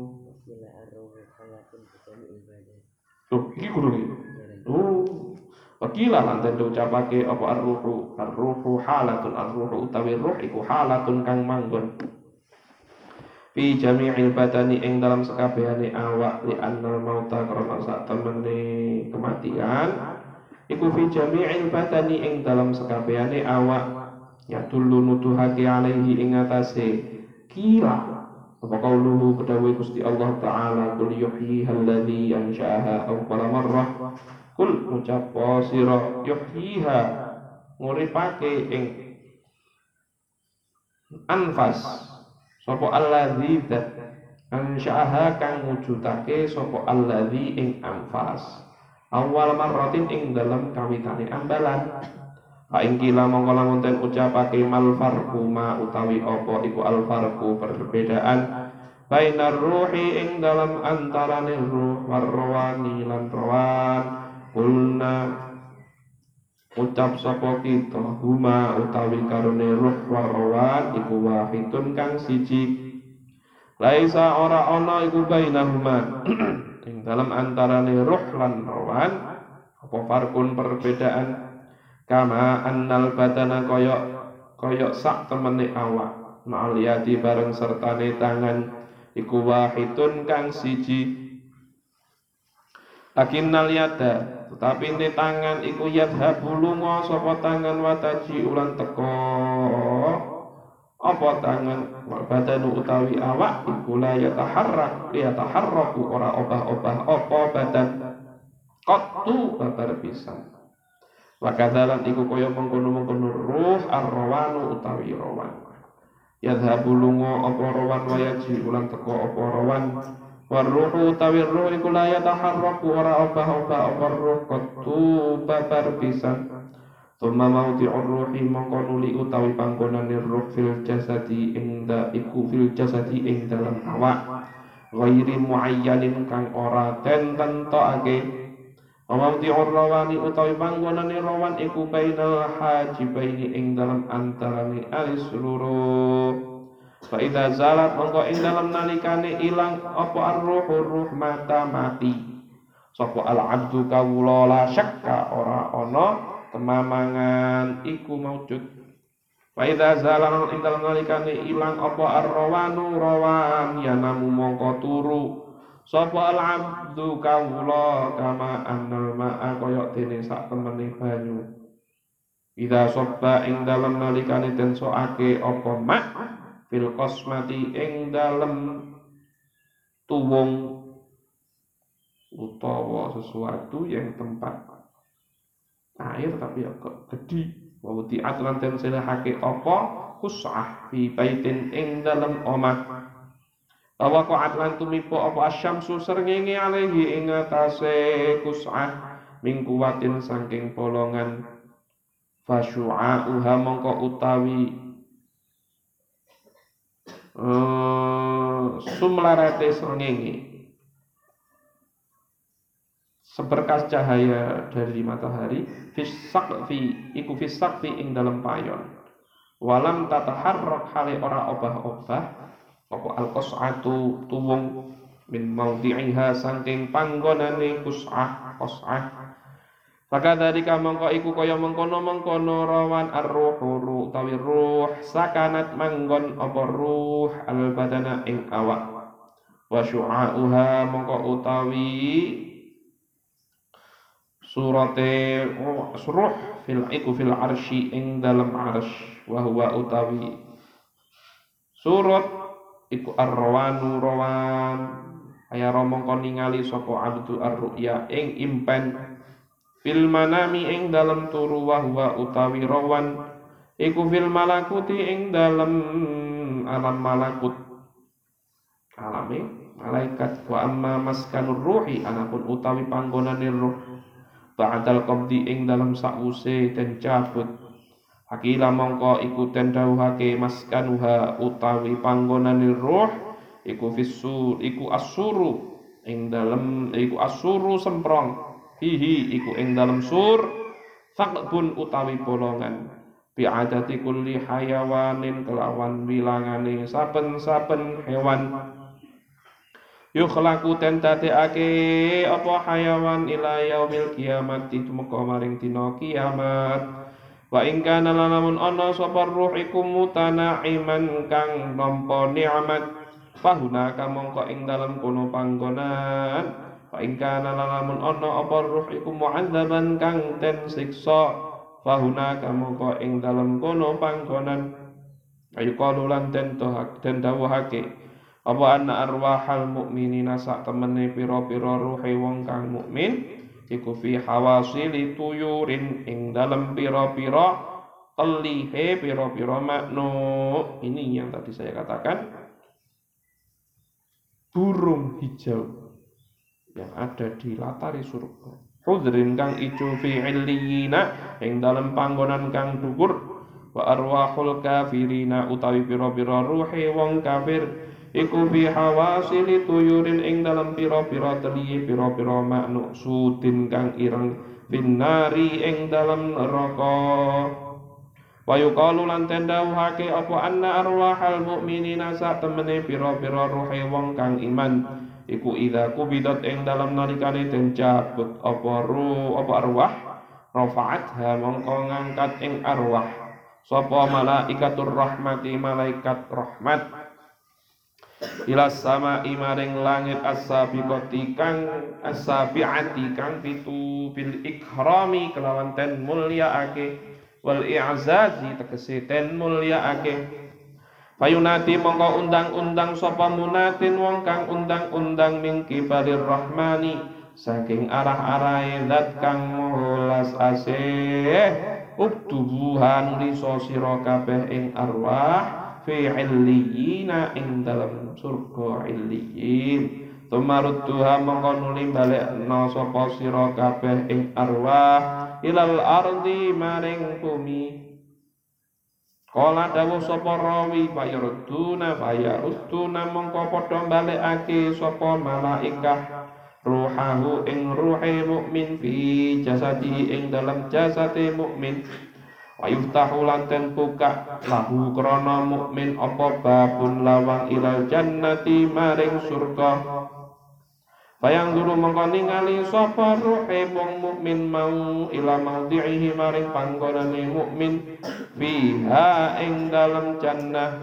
oh, iki guru iki. Oh, wakilah lanten diucapake apa ar-ruhu, ar-ruhu halatun, ar-ruhu utawi ruh iku halatun kang manggon fi jami'il badani ing dalam sekabehane awak, li annal mauta karena sak temene kematian iku fi jami'il badani ing dalam sekabehane awak, ya dulu nuduhake alaihi ing atase kila apa kauluhu kedawai Gusti Allah Ta'ala kul yuhyiha alladhi ansha'aha awwala marrah, kul ucap sira yuhyiha nguripake ing anfas sapa alladzi dat ansya'aha kang wujudake sapa alladzi ing anfas awal marratin ing dalam kawitane ambalan. Fa ing kila mongko lamun ten ucapake mal farqu ma utawi apa iku al farqu perbedaan bainar ruhi ing dalam antarane ruh warwani lan rawan kulna ucap sapa kita huma utawi karone ruh warwan iku wahidun kang siji laisa ora ana iku bainahuma ing dalam antarane ruh lan rawan apa farkun perbedaan kama annal badana koyok koyok sak temene awak ma'al yadi bareng sertane tangan iku wahidun kang siji lakinnal yada tetapi ini tangan iku yadhabu lunga sapa tangan wataji ulan teko apa tangan wal badanu utawi awak iku la yataharrak yataharraku ora obah-obah apa badan qattu babar pisan wa kadzalan iku kaya mengkono-mengkono ruh ar-rawanu utawi rawan yadhabu lunga apa rawan wa yaji ulan teko apa rawan warruhu utawi ruh iku la yataharraku ora obah-obah apa ruh qattu babar pisan thumma mawdi'ur ruhi mongko nuli utawi panggonane ruh fil jasadi ing da iku fil jasadi ing dalam awak ghairi muayyanin kang ora den tentokake mawdi'ur rawani utawi panggonane rawan iku bainal hajibaini ing dalam antarane alis seluruh fa idza zalat mongko ing dalam nalikane ilang apa ar-ruhu ruh mata mati sapa al-abdu kawula la syakka ora ana kemamangan iku maujud fa idza zalat ing dalam nalikane ilang apa ar-rawanu rawan yanamu mongko turu sapa al-abdu kawula kama annal ma'a kaya dene sak temene banyu idza sabba ing dalam nalikane den soake apa ma' fil qasmati ing dalem tuwung utawa sesuatu yang tempat air tapi ya kok gede wa uti'at lan den selehake apa kus'ah fi baitin ing dalem omah Awa qa'at lan tumipo apa asyamsu srengenge alaihi ing atase kus'ah min kuwatin saking bolongan fasyu'a'uha mongko utawi uh, sumlarate srengenge seberkas cahaya dari matahari fisaqfi iku fisaqfi ing dalam payon walam tataharrak hale ora obah-obah apa al-qas'atu tuwung min maudhi'iha saking panggonane qus'ah qas'ah maka dari kamangka iku kaya mengkono-mengkono rawan ar-ruhu utawi ruh sakanat manggon apa ruh al-badana ing awak wa syu'a'uha mongko utawi surate ruh fil iku fil arsy ing dalam arsy wa huwa utawi surat iku ar-rawanu rawan aya romong kon ningali sapa abdu ar-ru'ya ing impen fil manami ing dalam turu wa huwa utawi rawan iku fil malakuti ing dalam alam malakut alame malaikat wa amma maskanur ruhi anapun utawi panggonane ruh ba'dal qabdi ing dalam sakwuse den cabut Hakila mongko iku den dawuhake maskanuha utawi panggonane ruh iku fisur iku asuru ing dalem iku asuru semprong hihi iku ing dalem sur faqbun utawi bolongan bi adati kulli hayawanin kelawan wilangane saben-saben hewan yukhlaqu ten dadekake apa hayawan ila yaumil kiamat tumeka maring dina kiamat. Wa in kana lamun ana sapa ruh iku mutana'iman kang nampa nikmat fahuna kamangka ing dalem kono panggonan wa in kana lamun ana apa ruh iku mu'adzaban kang den siksa fahuna kamangka ing dalem kono panggonan ayu qalulan den tohak den dawuhake apa anna arwahal mukminina sak temene pira-pira ruhe wong kang mukmin iku fi hawasili tuyurin ing dalem pira-pira telihe piro-piro makhluk. Ini yang tadi saya katakan, burung hijau yang ada di latari surga. Hudrin kang ijo fi illiyina ing dalem panggonan kang dhuwur. Wa arwahul kafirina utawi pira-pira ruhe wong kafir iku fi hawasili tuyurin ing dalem pira-pira teliye pira-pira makhluk sudin kang ireng finnari ing dalem neraka. Wa yuqalu lan tendawuhake apa anna arwahal mukminina sak temene pira-pira ruhe wong kang iman iku idza kubidat ing dalem nalikane den cabut apa ruh apa arwah rafa'atha mongko ngangkat ing arwah sapa malaikatur rahmati malaikat rahmat ila sama'i maring langit as-sabiqati kang as-sabi'ati kang pitu bil ikrami kelawan ten mulyaake wal i'zazi tegese ten mulyaake. Fayunati mongko undang-undang sapa munatin wong kang undang-undang min kibalir rahmani saking arah-arahe zat kang molas asih uktubuhan liso sira kabeh ing arwah fi illiyina ing dalam surga illiyin tumarudduha mongko nuli balekna sapa sira kabeh ing arwah ilal ardi maring bumi. Kala dawuh sapa rawi fayarduna fayarustuna mongko padha balekake sapa malaikah ruhahu ing ruhe mukmin fi jasadi ing dalam jasade mukmin wa yuftahu lan ten buka lahu krana mukmin apa babun lawang ilal jannati maring surga. Bayang dulu mongko ningali sapa ruhe wong mukmin mau ila maudhihi maring panggonane mukmin fiha ing dalem jannah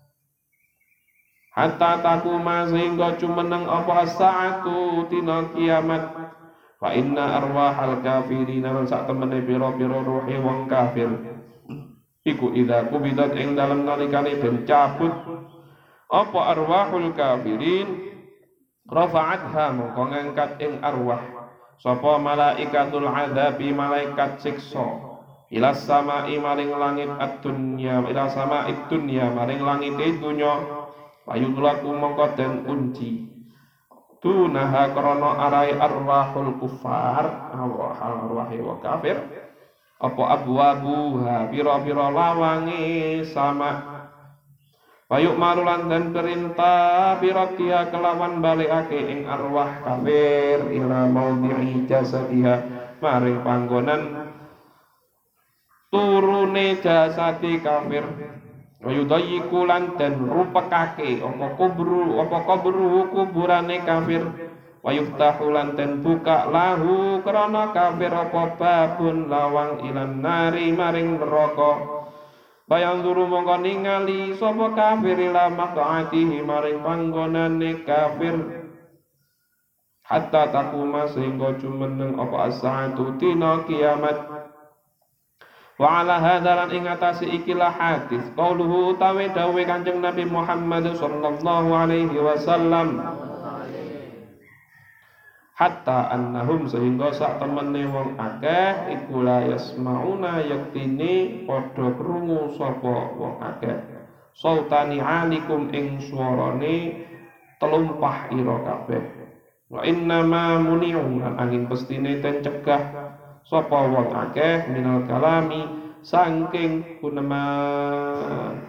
hatta takuma sehingga cumeneng apa saatu tina kiamat. Fa inna arwahal kafirin lan sak temene pira-pira ruhe wong kafir iku idza kubidat ing dalem nalikane den cabut apa arwahul kafirin rafa'atha mongko ngangkat ing arwah sapa malaikatul adzabi malaikat siksa ila sama'i maring langit ad-dunya ila sama'id dunya maring langit dunya payudlaku mongko den unci tunaha krana arai arwahul kufar arwah arwah wa kafir apa abwabuha pira-pira lawange sama. Payuk marulan dan perintah biratia kelawan balikake ing arwah kafir ila maudhi'i jasadiha maring panggonan turune jasadi kafir. Wayudayyiku lan dan rupekake apa kubru apa kubru kuburane kafir. Wayuftahu lan dan buka lahu krana kafir apa babun lawang ilan nari maring neraka. Bayang duru mongko ningali sapa kafir ila maq'atihi maring panggonane kafir hatta takuma sehingga jumeneng apa as-saatu tina kiamat. Wa ala hadzal ing atase ikilah hadis qauluhu utawi dawuh Kanjeng Nabi Muhammad sallallahu alaihi wasallam hatta annahum sehingga sak temene wong akeh iku la yasmauna yaktine padha krungu sapa wong akeh sautani alikum ing swarane telumpah ira kabeh wa inna ma muni'u lan angin pestine ten cegah sapa wong akeh minal kalami saking guneman.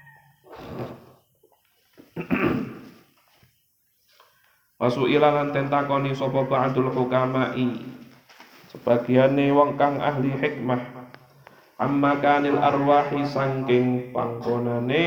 Wasu ilalan tentakoni sapa ba'dul hukama'i sebagiane wong kang ahli hikmah amma kanil arwahi saking panggonane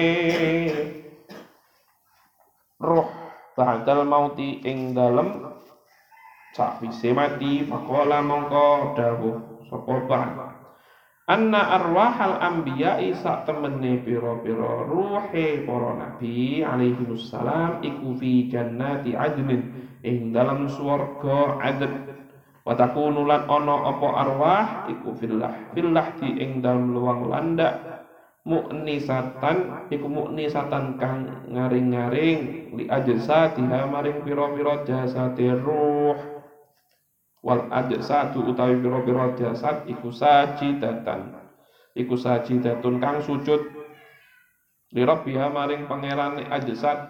roh ba'dal mauti ing dalem sakwise mati faqala mongko dawuh sapa ba'd anna arwahal anbiya'i sak temene pira-pira ruhe para nabi alaihi wassalam iku fi jannati adnin ing dalam swarga adn wa takunu lan ana apa arwah iku fillah fillah di ing dalam luang landak muknisatan iku muknisatan kang ngaring-ngaring li ajsatiha maring pira-pira jasate ruh wal ajsatu utawi pira-pira jasad iku sajidatan iku sajidatun kang sujud li rabbiha maring pangerane ajsad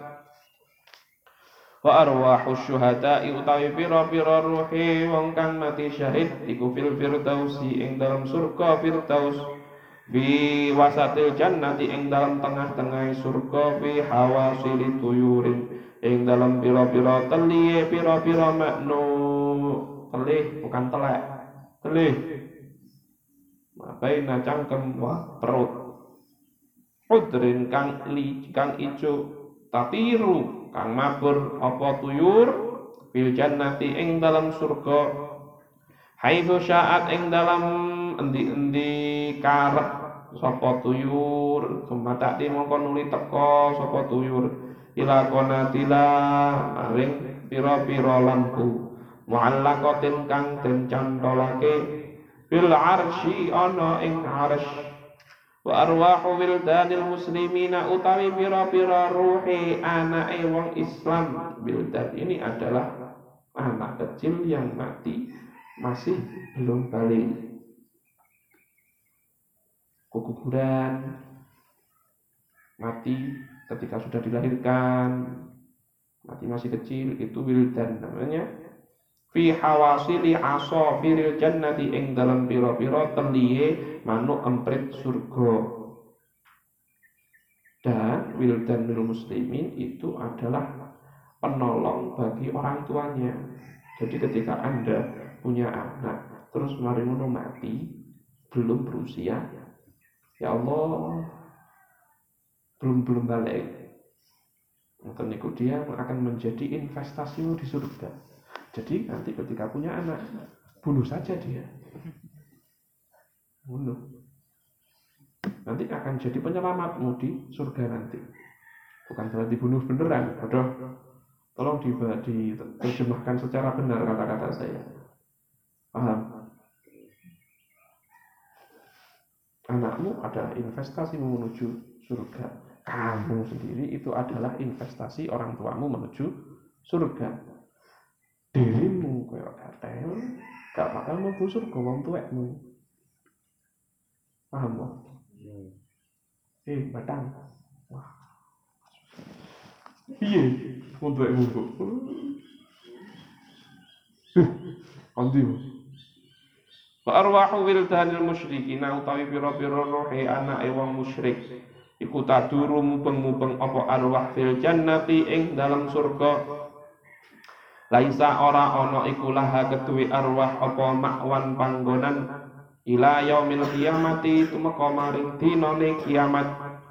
wa arwahus syuhada'i utawi pira-pira ruhe wong kang mati syahid iku fil firdausi ing dalam surga firdaus bi wasatil jannati ing dalam tengah-tengah surga bi hawasili tuyurin ing dalam pira-pira teliye pira-pira maknu telih bukan telek telih mabaina cangkem wa perut udrin kang li kang ijo tatiru kang mabur apa tuyur fil jannati ing dalam surga haitsu syaat ing dalam endi-endi karep sapa tuyur sumatati mongko nuli teka sapa tuyur ila qanatila maring pira-pira lampu muallaqatin kang den cantolake fil arsy ana ing arsy wa arwahu wildanil muslimina utawi pira-pira ruhe anake wong Islam. Wildan ini adalah anak kecil yang mati masih belum balik, keguguran, mati ketika sudah dilahirkan, mati masih kecil, itu wildan namanya. Fi hawasili asafiril jannati ing dalam pira-pira teliye manuk emprit surga. Dan wildanul muslimin itu adalah penolong bagi orang tuanya. Jadi ketika Anda punya anak terus mari ngono mati belum berusia, ya Allah, belum belum balik, maka niku dia akan menjadi investasimu di surga. Jadi nanti ketika punya anak, bunuh saja dia. Bunuh. Nanti akan jadi penyelamatmu di surga nanti. Bukan berarti bunuh beneran. Aduh, tolong diterjemahkan secara benar kata-kata saya. Paham? Anakmu adalah investasimu menuju surga. Kamu sendiri itu adalah investasi orang tuamu menuju surga. Dirimu kaya katel, gak bakal mlebu surga wong tuwekmu. Paham kok? Hmm. Eh, batang. Wah. Piye wong tuwekmu kok? Huh, andi. Wa arwahu wildanil musyrikin utawi pira-pira rohe anake wong musyrik iku taduru mubeng-mubeng apa arwah fil jannati ing dalam surga. Laisa ora ana iku laha keduwe arwah apa makwan panggonan ila yaumil qiyamati tumeka maring dinane kiamat.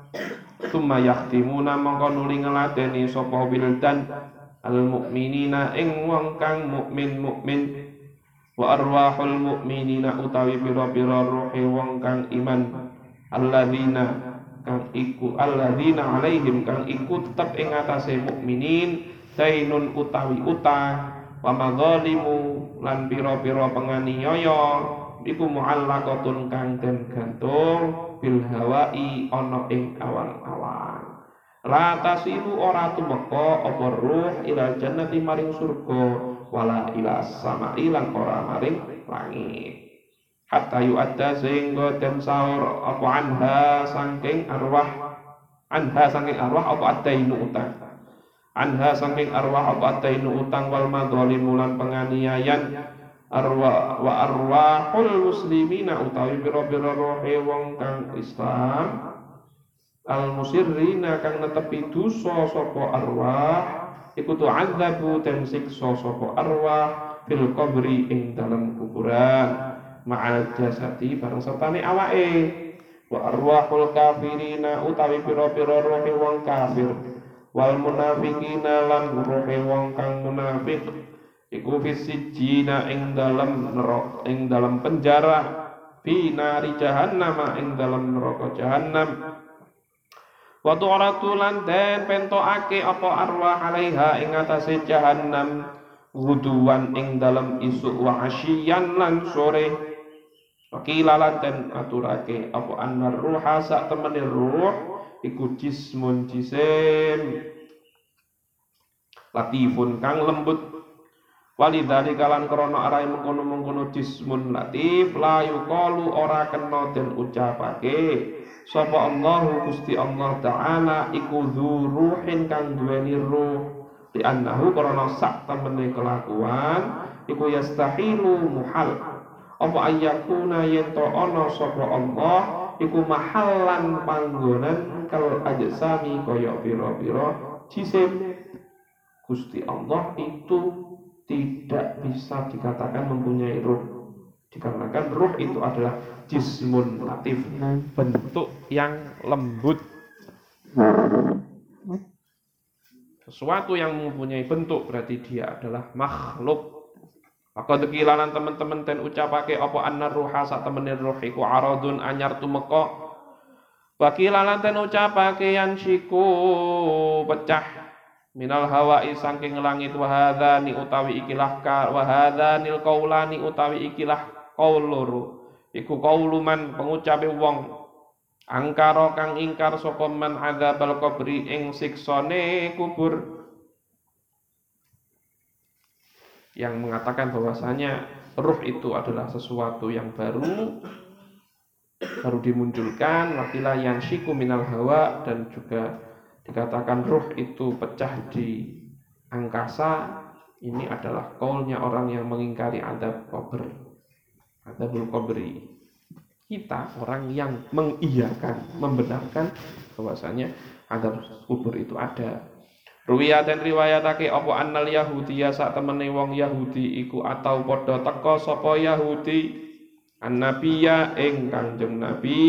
Summa yahtimuna mongko nuli ngeladeni sapa wildan al mukminina ing wong kang mukmin mukmin wa arwahul mukminina utawi pira-pira ruhe wong kang iman alladzina kang iku alladzina alaihim kang iku tetep ing atase mukminin dainun utawi utang wa madzalimu lan pira-pira penganiaya iku muallaqatun kang den gantung bil hawai ana ing awan-awan. La tasilu ora tumeka apa ruh ila jannati maring surga wala ila samai lan ora maring langit. Hatta yu'adda sehingga den saur apa anha saking arwah anha saking arwah apa adainu utang. Anha saking arwah apa adainu utang wal madzalimu lan penganiayan arwah wa arwahul muslimina utawi pira-pira rohe wong kang Islam al musirrina kang netepi dosa sapa arwah iku tu'adzabu den siksa sapa arwah fil qabri ing dalam kuburan ma'al jasadi bareng sertane awake wa arwahul kafirina utawi pira-pira rohe wong kafir wal munafiqina lan rohe wong kang munafik iku fisijina ing dalam neraka ing dalam penjara fi nari jahannam ing dalam neraka jahannam wa tu'ratu lan den pentokake apa arwah alaiha ing atase jahannam guduwan ing dalam isuk wa asyian lan sore wakilalan den aturake apa annar ruha sak temene ruh iku jismun jisim latifun kang lembut Walidzalika lan krana arahe mengkono-mengkono jismun latif la yuqalu ora kena den ucapake sapa Allahu Gusti Allah taala iku dzuruhin kang duweni ruh di annahu krana sak temene kelakuan iku yastahilu muhal apa ayyakuna yen to ana sapa Allah iku mahallan panggonan kal ajsami kaya pira-pira jisim. Gusti Allah itu tidak bisa dikatakan mempunyai ruh, dikarenakan ruh itu adalah jismun latif, bentuk yang lembut, sesuatu yang mempunyai bentuk berarti dia adalah makhluk. Maka tekilanan teman-teman ten ucapake apa annar ruha sak temene ruh iku aradun anyar tumeka. Wakilalan ten ucapake yan siku pecah minal hawa'i saking langit wa hadzani utawi ikilah ka wa hadzanil qaulani utawi ikilah qaul loro iku qauluman pengucape wong angkara kang ingkar sapa man adzabal qabri ing siksane kubur, yang mengatakan bahwasanya ruh itu adalah sesuatu yang baru baru dimunculkan. Wakilah yang syiku minal hawa, dan juga dikatakan ruh itu pecah di angkasa. Ini adalah kaulnya orang yang mengingkari adab kubur, adabul kubri. Kita orang yang mengiyakan, membenarkan bahwasanya adab kubur itu ada. Ruwiyah dan riwayatake apa annal yahudiya sak temene wong Yahudi iku atau padha teka sapa Yahudi annabiya ing Kanjeng Nabi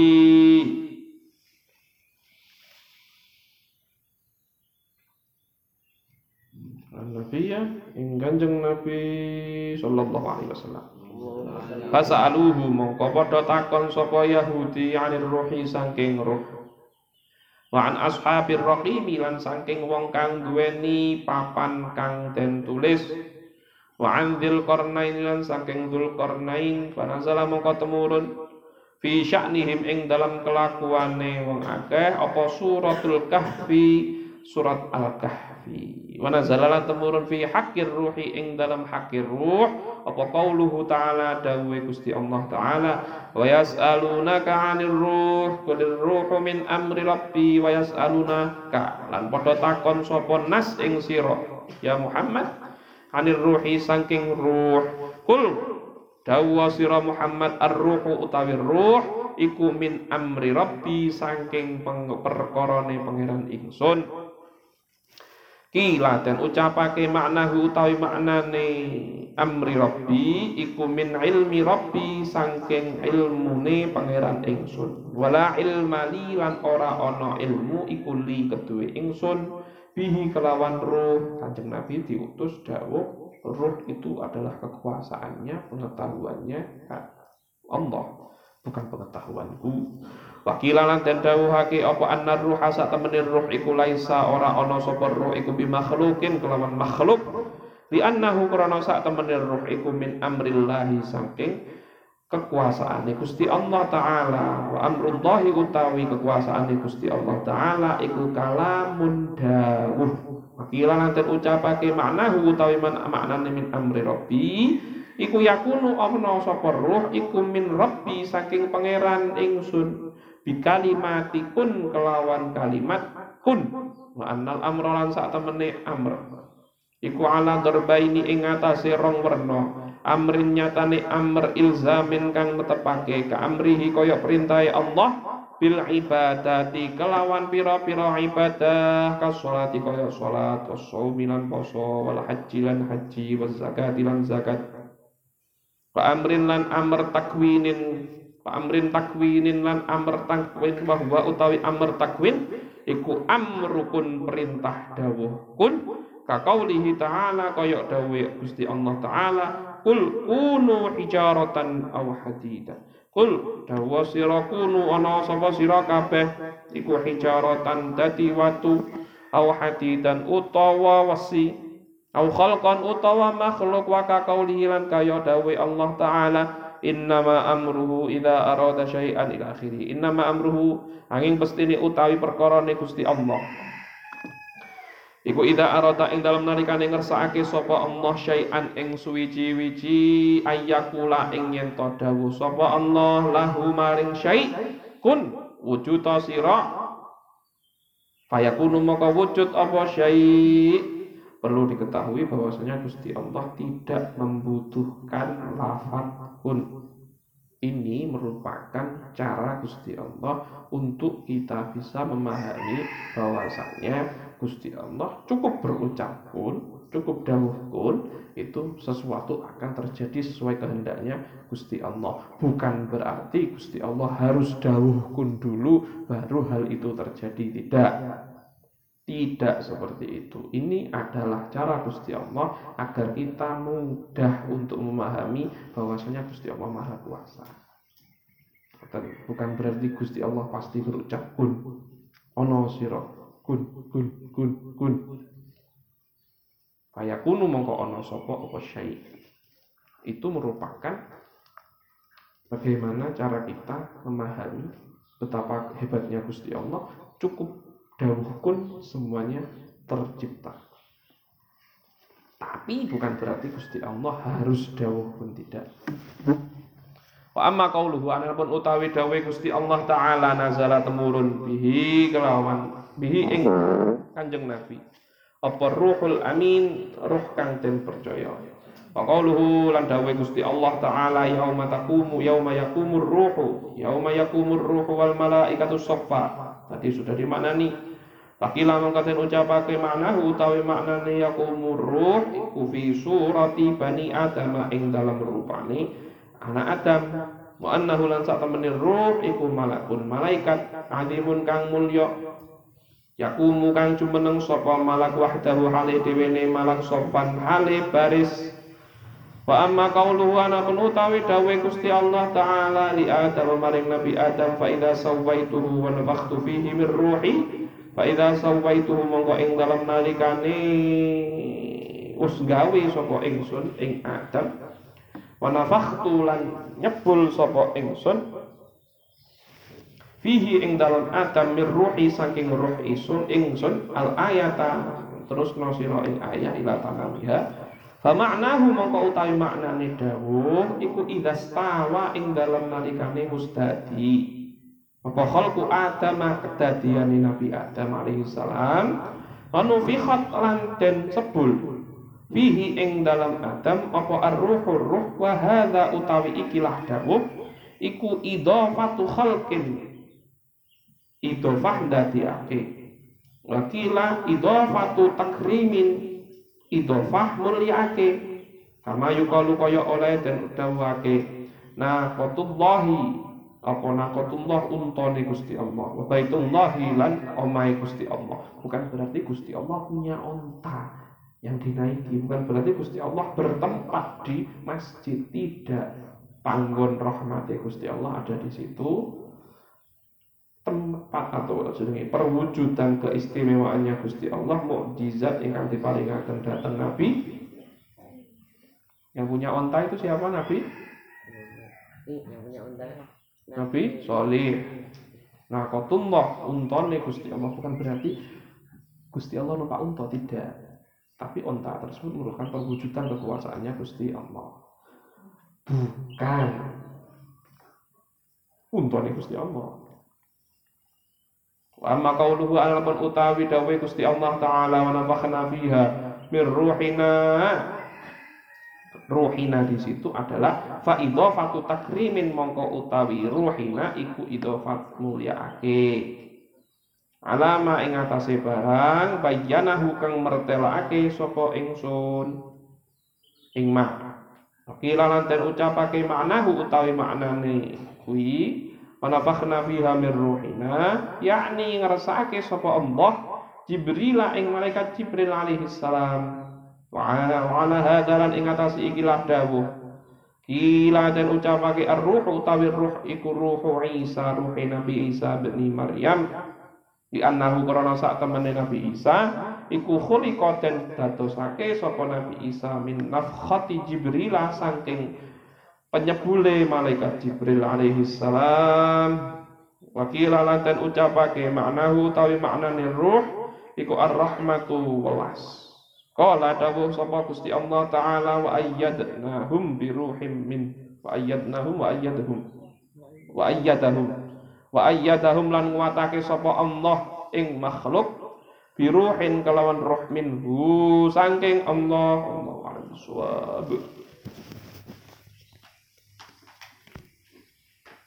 Nabi ya, ing Kanjeng Nabi sallallahu alaihi wasallam. Fasa'aluhu mongko padha takon sapa Yahudi anir ruhi saking ruh. Wa an ashabir raqim lan saking wong kang duweni papan kang den tulis. Wa an dzil qarnain lan saking dzul qarnain panazala mongko temurun fi sya'nihim ing dalam kelakuane wong akeh apa suratul kahfi, surat al-kahfi. Wa nazala temurun fi haqqir ruhi ing dalam haqqir ruh apa qauluhu ta'ala dawe Gusti Allah taala wa yas'alunaka 'anil ruh qul ruhu min amri rabbi wa yas'alunaka lan padha takon sapa nas ing sira ya Muhammad 'anil ruhi saking ruh kul dawa sira Muhammad ar-ruhu utawi ruh iku min amri rabbi saking perkarane pangeran ingsun. Kila dan ucapake maknahu utawi maknane amri rabbi iku min ilmi rabbi saking ilmune pangeran ingsun. Wala ilma li lan ora ana ilmu iku li keduwe ingsun bihi kelawan ruh. Kanjeng Nabi diutus dawuh ruh itu adalah kekuasaannya, pengetahuannya Allah, bukan pengetahuanku. Wakilalan dan dawuhake apa annar ruha sak temene ruh iku laisa ora ana sapa ruh iku bi makhlukin kelawan makhluk li annahu krana sak temene ruh iku min amrillahi saking kekuasaane Gusti Allah taala. Wa amrullahi utawi kekuasaane Gusti Allah taala iku kalamun dawuh. Wakilalan dan ucapake maknahu utawi maknane min amri rabbi iku yakunu ana sapa ruh iku min rabbi saking pangeran ingsun bikalimatikun kelawan kalimat kun wa annal amra lan sak temene amr iku ala darbaini ing atase rong werna amrin nyatane amr ilzamin kang netepake ka amrihi kaya perintahe Allah bil ibadati kelawan pira-pira ibadah ka sholati kaya salat wassaumi lan poso wal haji lan haji waz zakati lan zakat wa amrin lan amr takwinin wa amrin takwinin lan amr takwin bahwa utawi amr takwin iku amrukun perintah dawuh kun ka qaulihi ta'ala kaya dawuh Gusti Allah taala kul kunu hijaratan aw hadida kul dawuh sira kunu ana sapa sira kabeh iku hijaratan dadi watu aw hadidan utawa wesi aw khalqan utawa makhluk wa ka qaulihi lan kaya dawuh Allah taala innama amruhu idza arada syai'an ila akhiri. Innama amruhu angin pestine utawi perkarane Gusti Allah Iku ida arada ing dalem nalikane ngersakake sapa Allah syai'an ing suwiji-wiji ayyakula ing yen to dawuh sapa Allah lahu maring syai' kun wujud sira fayakunu maka wujud apa syai'. Perlu diketahui bahwasanya Gusti Allah tidak membutuhkan lafaz kun. Ini merupakan cara Gusti Allah untuk kita bisa memahami bahwasanya Gusti Allah cukup berucap kun, cukup dawuh kun, itu sesuatu akan terjadi sesuai kehendaknya Gusti Allah. Bukan berarti Gusti Allah harus dawuh kun dulu baru hal itu terjadi, tidak. Tidak seperti itu. Ini adalah cara Gusti Allah agar kita mudah untuk memahami bahwasanya Gusti Allah Maha Kuasa. Bukan berarti Gusti Allah pasti berucap kun, ono sira kun kun kun kun. Fayakunu mongko ono sapa apa syai'. Itu merupakan bagaimana cara kita memahami betapa hebatnya Gusti Allah. Cukup dawuh kun semuanya tercipta. Tapi bukan berarti Gusti Allah harus dawuh kun, tidak. Wa amma qauluhu anapun utawi dawuh Gusti Allah taala nazala temurun bihi kelawan bihi ing Kanjeng Nabi apa ruhul amin ruh kang den percaya. Wa qauluhu lan dawuh Gusti Allah taala yauma taqumu yauma yaqumur ruhu yauma yaqumur ruhu wal malaikatu shaffa. Tadi sudah dimaknani. Pakila mangkaten ucapake maknahu utawi maknane yaqumur ruh iku fi surati bani adam ing dalam rupane anak Adam. Wa annahu lan sak temene ruh iku malakun malaikat alimun kang mulya yakumu kang jumeneng sapa malak wahdahu hale dhewene malak sopan hale baris. Wa amma qauluhu anapun utawi dawuh Gusti Allah taala li Adam maring Nabi Adam fa idza sawaituhu wa nafakhtu fihi min ruhi fa idza sawaituhu mongko ing dalam nalikane us gawe sapa ingsun ing Adam wa nafakhtu lan nyebul sapa ingsun fihi ing dalam Adam mir ruhi saking ruh isun ingsun al ayata terus nosira ing ayat ila tanamiha fa ma'nahu mongko utawi maknane dawuh iku idza stawa ing dalam nalikane mustadi apa khalqu Adam kedadiane Nabi Adam alaihi salam anufikhat lan den sebul fihi ing dalam Adam apa ar-ruhur ruh wa hadza utawi ikilah dawuh iku idhafatu khalqin idhofah dadiake wakila idhofatu takrimin idhofah mulyake kama yukalu kaya oleh den dawuhake naqatullahi apa naqatullah untane Gusti Allah wa baitullahi lan omahe Gusti Allah. Bukan berarti Gusti Allah punya onta yang dinaiki, bukan berarti Gusti Allah bertempat di masjid, tidak. Panggon rahmati Gusti Allah ada di situ. Tempat atau jenenge perwujudan keistimewaannya Gusti Allah, mukjizat ingkang diparingaken dhateng Nabi. Yang punya onta itu siapa? Nabi? Yang punya onta. Nabi Sholih. Nah, qatullah untane Gusti Allah, bukan berarti Gusti Allah numpak unta, tidak. Tapi onta tersebut merupakan perwujudan kekuasaannya Gusti Allah. Bukan untane Gusti Allah. Wa amma qauluhu al-man utawi dawuh Gusti Allah taala wa nafakhna fiha mir ruhina. Ruhina di situ adalah fa idhofatu takrimin mongko utawi ruhina iku idhofat mulyaake. Alama ing atase barang bayanahu kang mertelake sapa ingsun ing mak. Kila lan ten ucapake maknahu utawi maknane kuwi panafakhna fiha mir ruhina yakni ngrasake sapa Allah Jibril ing malaikat Jibril alaihi salam wa ala hadalan ing atase ikilah dawuh kila ten ucapake ar-ruh utawi ruh iku ruhu Isa ruh Nabi Isa bin Maryam di annahu karena sak temene Nabi Isa iku khuliqa den dadosake sapa Nabi Isa min nafkhati Jibril saking penyebule malaikat Jibril alaihi salam. Wakila lan den ucapake maknahu tawi maknane ruh iku ar-rahmatu welas. Qala dawuh sapa Gusti Allah taala wa ayyadnahum bi ruhim min wa ayyadnahum wa ayyadahum wa ayyadahum wa ayyadahum lan nguatake sapa Allah ing makhluk bi ruhin kelawan roh minhu saking Allah. Allah